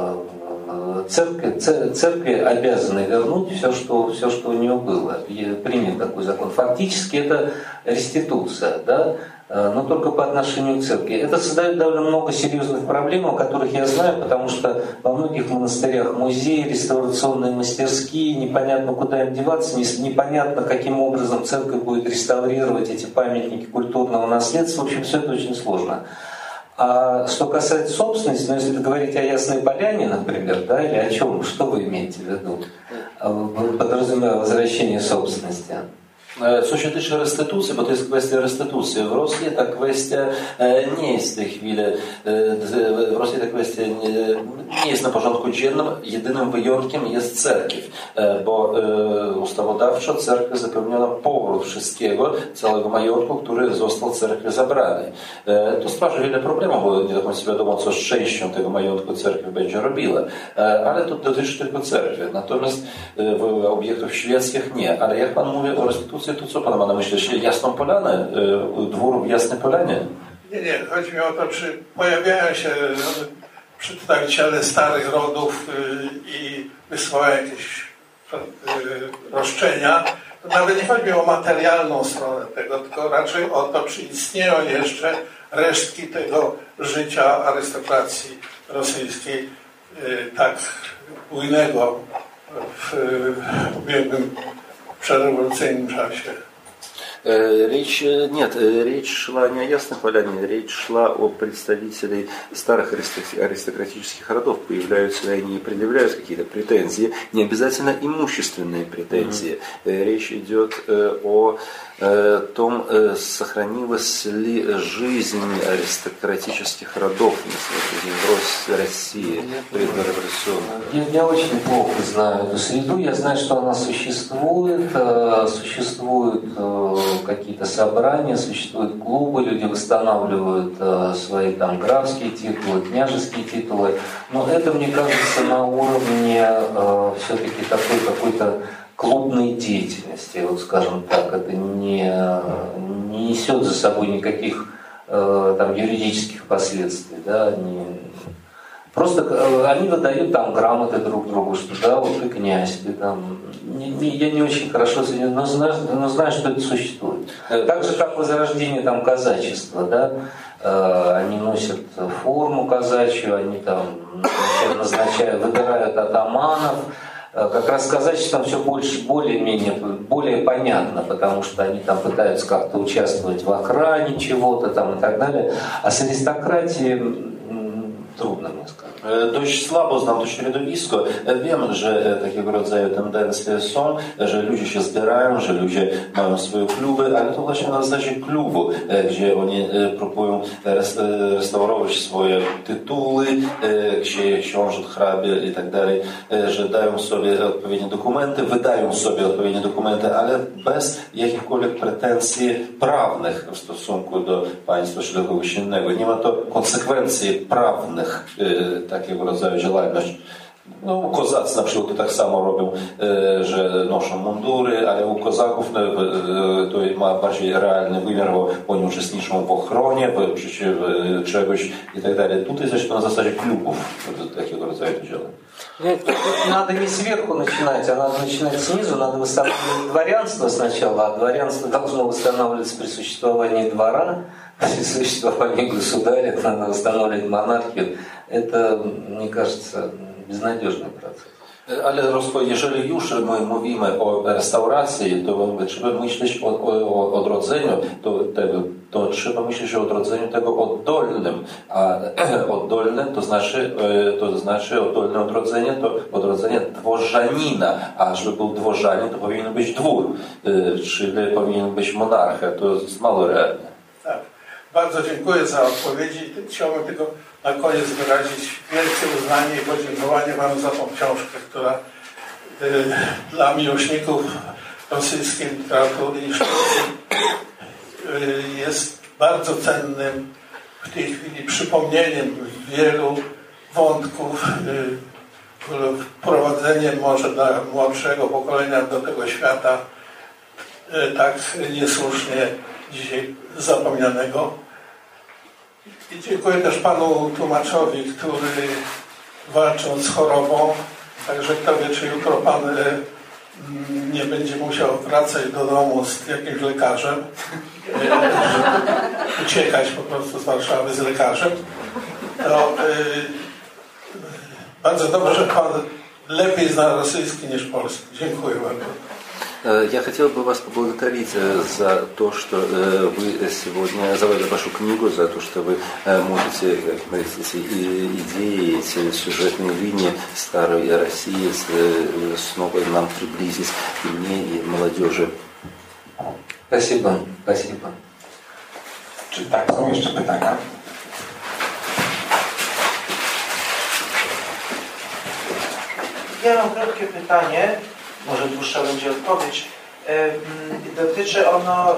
Церкви, церкви обязаны вернуть все что, все, что у нее было. Принят такой закон. Фактически это реституция, да? Но только по отношению к церкви. Это создает довольно много серьезных проблем, о которых я знаю, потому что во многих монастырях музеи, реставрационные мастерские, непонятно куда им деваться, непонятно каким образом церковь будет реставрировать эти памятники культурного наследства. В общем, все это очень сложно. А что касается собственности, ну, если говорить о Ясной Поляне, например, да, или о чем, что вы имеете в виду, подразумевая возвращение собственности? Co się tyczy restytucji, bo to jest kwestia restytucji. W Rosji ta kwestia nie jest w tej chwili, w Rosji ta kwestia nie, nie jest na porządku dziennym. Jedynym wyjątkiem jest cerkiew, bo ustawodawczo cerkwi zapewniono powrót wszystkiego, całego majątku, który został cerkwi zabrany. To stwarza wiele problemów, bo nie do końca wiadomo, co z częścią tego majątku cerkiew będzie robiła. Ale to dotyczy tylko cerkwi. Natomiast w obiektów świeckich nie. Ale jak Pan mówi o restytucji, to co Pan ma na myśli? Jasną Polanę? Dwór w Jasnej Polanie? Nie, nie. Chodzi mi o to, czy pojawiają się przedstawiciele starych rodów i wysyłają jakieś roszczenia. To nawet nie chodzi mi o materialną stronę tego, tylko raczej o to, czy istnieją jeszcze resztki tego życia arystokracji rosyjskiej tak bujnego w ubiegłym przedrewolucyjnym czasie. Речь, нет, речь шла не о Ясной Поляне, речь шла о представителей старых аристократических родов. Появляются ли они и предъявляют какие-то претензии, не обязательно имущественные претензии. Mm-hmm. Речь идет о том, сохранилась ли жизнь аристократических родов в России предреволюционной. Я, я очень плохо знаю эту среду. Я знаю, что она существует, существует какие-то собрания, существуют клубы, люди восстанавливают э, свои там графские титулы, княжеские титулы, но это, мне кажется, на уровне э, все-таки такой какой-то клубной деятельности, вот скажем так, это не, не несет за собой никаких э, там юридических последствий, да, не, просто э, они выдают там грамоты друг другу, что да, вот ты князь, ты там. Не, не, я не очень хорошо знаю, но знаю, но знаю, что это существует. Так же, как возрождение там казачества, да, э, они носят форму казачью, они там назначают, выбирают атаманов. Как раз казачество там все больше, более-менее, более понятно, потому что они там пытаются как-то участвовать в охране чего-то там и так далее. А с arystokratiей trudno mnie сказать. Dość słabo znam to środowisko. Wiem, że takiego rodzaju tendencje są, że ludzie się zbierają, że ludzie mają swoje kluby, ale to właśnie na zasadzie klubu, gdzie oni próbują restaurować swoje tytuły, książąt, hrabie i tak dalej, że dają sobie odpowiednie dokumenty, wydają sobie odpowiednie dokumenty, ale bez jakichkolwiek pretensji prawnych w stosunku do państwa czy do kogoś innego. Nie ma to konsekwencji prawnych takiego rodzaju działalność. No, kozacy na przykład to tak samo robią, że noszą mundury, ale u kozaków to ma bardziej realny wymiar, bo oni uczestniczą w ochronie, w życiu czegoś i tak dalej. Tutaj zaś to na zasadzie klubów takiego rodzaju działań. Надо не сверху начинать, а надо начинать снизу, надо восстанавливать дворянство сначала, а дворянство должно восстанавливаться при существовании двора, при существовании государя, надо восстанавливать монархию. Это, мне кажется, безнадежный процесс. Ale jeżeli już my mówimy o restauracji, to trzeba myśleć o, o, o odrodzeniu, to, tego, to trzeba myśleć o odrodzeniu tego oddolnym, a oddolne to znaczy, to znaczy oddolne odrodzenie, to odrodzenie dworzanina, a żeby był dworzanin, to powinien być dwór, czyli powinien być monarcha, to jest mało realne. Tak. Bardzo dziękuję za odpowiedzi. Chciałbym tylko na koniec wyrazić wielkie uznanie i podziękowanie Panu za tą książkę, która y, dla miłośników rosyjskiej literatury i sztuki y, jest bardzo cennym w tej chwili przypomnieniem wielu wątków, y, wprowadzeniem może dla młodszego pokolenia do tego świata y, tak niesłusznie dzisiaj zapomnianego. I dziękuję też panu tłumaczowi, który walcząc z chorobą, także kto wie, czy jutro pan nie będzie musiał wracać do domu z jakimś lekarzem, uciekać po prostu z Warszawy z lekarzem. To bardzo dobrze, że pan lepiej zna rosyjski niż polski. Dziękuję bardzo. Я хотел бы вас поблагодарить за то, что вы сегодня, за вашу книгу, за то, что вы можете эти идеи, эти сюжетные линии старой России снова нам приблизить и мне, и молодежи. Спасибо, спасибо. Czy tak, są jeszcze pytania? Ja mam krótkie pytanie, może dłuższa będzie odpowiedź. Dotyczy ono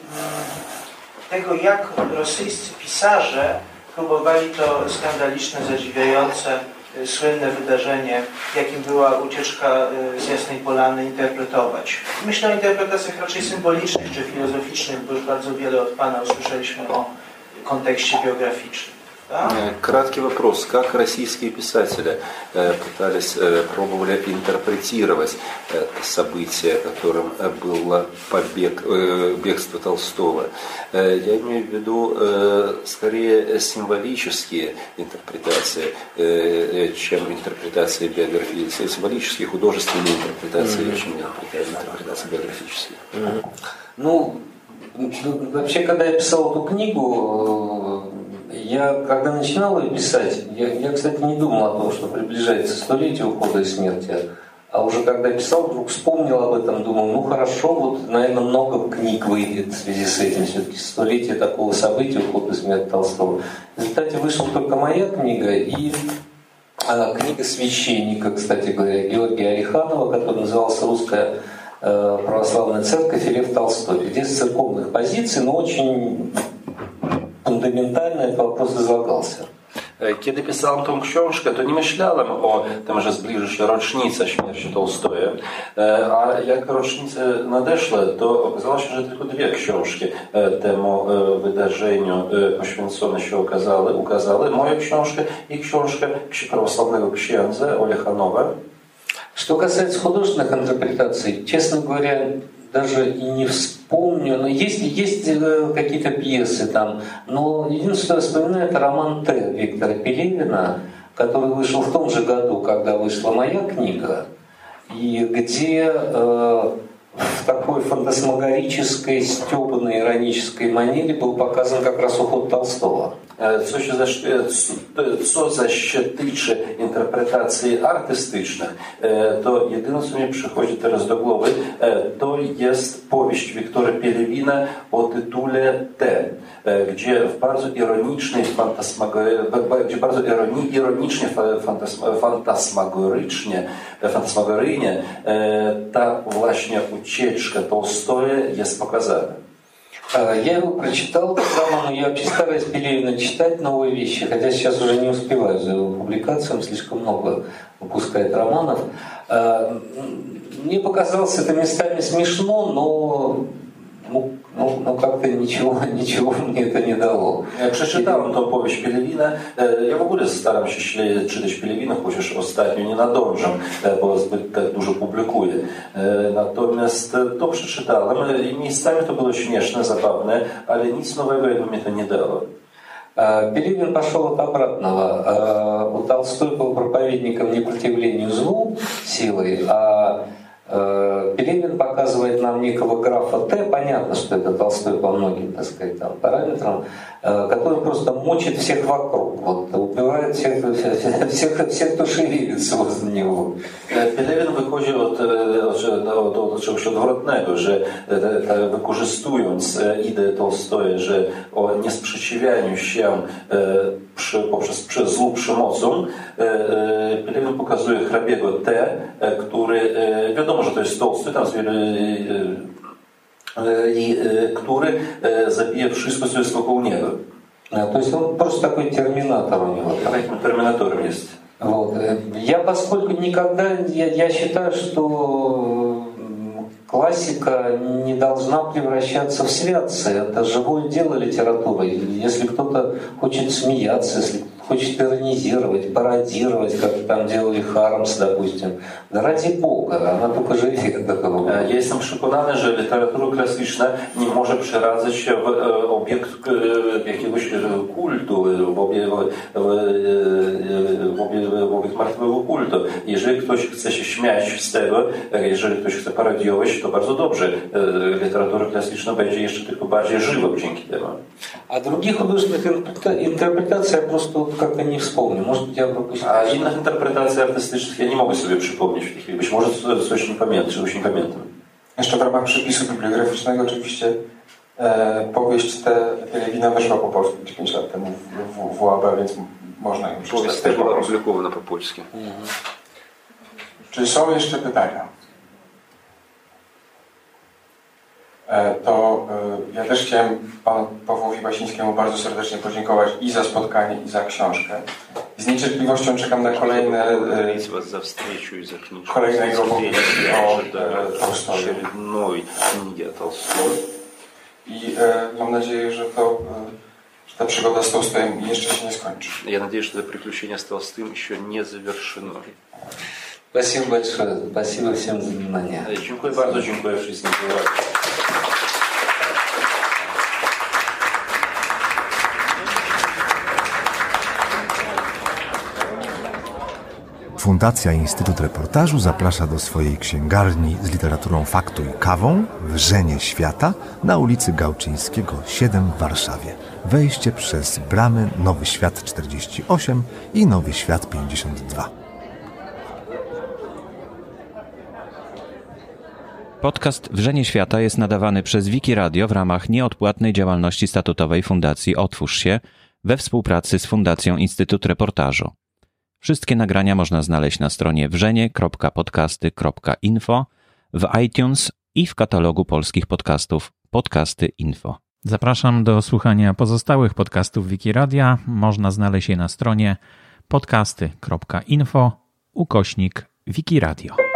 tego, jak rosyjscy pisarze próbowali to skandaliczne, zadziwiające, słynne wydarzenie, jakim była ucieczka z Jasnej Polany, interpretować. Myślę o interpretacjach raczej symbolicznych czy filozoficznych, bo już bardzo wiele od Pana usłyszeliśmy o kontekście biograficznym. Да? Краткий вопрос. Как российские писатели пытались, пробовали интерпретировать события, которым было побег, бегство Толстого? Я имею в виду скорее символические интерпретации, чем интерпретации биографии, символические, художественные интерпретации, mm-hmm. чем интерпретации биографические. Mm-hmm. Ну, вообще, когда я писал эту книгу, я, когда начинал ее писать, я, я, кстати, не думал о том, что приближается столетие ухода и смерти, а уже когда писал, вдруг вспомнил об этом, думал, ну хорошо, вот, наверное, много книг выйдет в связи с этим, все-таки столетие такого события, ухода и смерти Толстого. В результате вышла только моя книга и а, книга священника, кстати говоря, Георгия Ореханова, которая называлась «Русская э, православная церковь» и Лев Толстой, где с церковных позиций, но очень фундаментально этот вопрос излагался. Kiedy pisałem tą książkę, to nie myślałem o tym, że zbliży się rocznica śmierci Tolstoja, a jak rocznice nadeszły, to okazało się, że tylko dwie książki temu wydarzeniu poświęcone się okazały, ukazały. Moją książkę i książkę prawosławnego księdza Orechanowa. Что касается художественных интерпретаций, честно говоря, даже и не вспомню, но есть, есть какие-то пьесы там, но единственное, что я вспоминаю, это роман «Т» Виктора Пелевина, который вышел в том же году, когда вышла моя книга, и где э, в такой фантасмагорической, стёбанной, иронической манере был показан как раз уход Толстого. Co, się zaś, co zaś się tyczy interpretacji artystycznych, to jedyne, co mi przychodzi teraz do głowy, to jest powieść Wiktora Pelewina o tytule T, gdzie w bardzo ironicznej, gdzie bardzo ironi, ironicznie, fantasmagorycznie, fantasmagoryjnie ta właśnie ucieczka Толстого jest pokazana. Я его прочитал, но я вообще стараюсь Пелевина читать новые вещи, хотя сейчас уже не успеваю за его публикацией, он слишком много выпускает романов. Мне показалось это местами смешно, но ну, ну, ну как-то ничего, nичего мне это nie dało. Przeczytałem tą powieść Pelewina. Ja w ogóle staram się czytać Pelewina, chociaż ostatnio nie nadążam, bo zbyt tak dużo publikuję. Natomiast to przeczytałem i miejscami to było śmieszne, zabawne, ale nic nowego jakby mnie to nie dało. Пелевин пошел от обратного. У Толстой был проповедником непротивлению злу силой, а Пелевин показывает нам некого графа Т, понятно, что это Толстой по многим, так сказать, там, параметрам, который просто мочит всех вокруг, вот, убивает всех, всех, всех, кто шевелится возле него. Pelewin wychodzi od, od, od, od czegoś odwrotnego, że wykorzystując ideę Tolstoja, że o niesprzeciwianiu się przy, poprzez przez złą przemocą, Pelewin pokazuje hrabiego T, który wiadomo, że to jest Tolstoj, tam i który zabije wszystko, co jest wokół niego. То есть он просто такой терминатор у него. Таким терминатором есть. Вот. Я, поскольку никогда, я, я считаю, что классика не должна превращаться в святцы. Это живое дело литературы. Если кто-то хочет смеяться, если хочет иронизировать, пародировать, как там делали Хармс, допустим, да ради Бога, она tylko żyje do kogo. Ja jestem przekonany, że literatura klasyczna nie może przeradzać się w obiekt jakiegoś kultu, w obiekt, w obiekt, w obiekt martwego kultu. Jeżeli ktoś chce się śmiać z tego, jeżeli ktoś chce parodiować, to bardzo dobrze. Literatura klasyczna będzie jeszcze tylko bardziej żywa dzięki temu. A других художественных интерпретаций я просто как-то не вспомню. Может быть, я пропустил. A innych interpretacji artystycznych ja nie mogę sobie przypomnieć w tej chwili. Być może coś nie pamiętam, czegoś nie pamiętam. Jeszcze w ramach przepisu bibliograficznego oczywiście e, powieść te Pielewina weszła po polsku pięć lat temu w, w, w U A B, więc można ją przeczytać. Powieść też była opublikowana po polsku. Mhm. Czy są jeszcze pytania? To ja też chciałem panu Pawłowi Basińskiemu bardzo serdecznie podziękować i za spotkanie, i za książkę. Z niecierpliwością czekam na kolejne kolejnego o Tolstoju. I mam nadzieję, że to że ta przygoda z Tolstojem jeszcze się nie skończy. Ja nadzieję, że te приключения z Толстым еще не завершено. Спасибо большое. Спасибо всем за внимание. Dziękuję bardzo, dziękuję wszystkim. Fundacja Instytut Reportażu zaprasza do swojej księgarni z literaturą faktu i kawą Wrzenie Świata na ulicy Gałczyńskiego siedem w Warszawie. Wejście przez bramy Nowy Świat czterdzieści osiem i Nowy Świat pięćdziesiąt dwa. Podcast Wrzenie Świata jest nadawany przez Wiki Radio w ramach nieodpłatnej działalności statutowej Fundacji Otwórz się we współpracy z Fundacją Instytut Reportażu. Wszystkie nagrania można znaleźć na stronie wrzenie kropka podcasty kropka info, w iTunes i w katalogu polskich podcastów Podcasty Info. Zapraszam do słuchania pozostałych podcastów Wiki Radia. Można znaleźć je na stronie podcasty kropka info ukośnik Wiki Radio.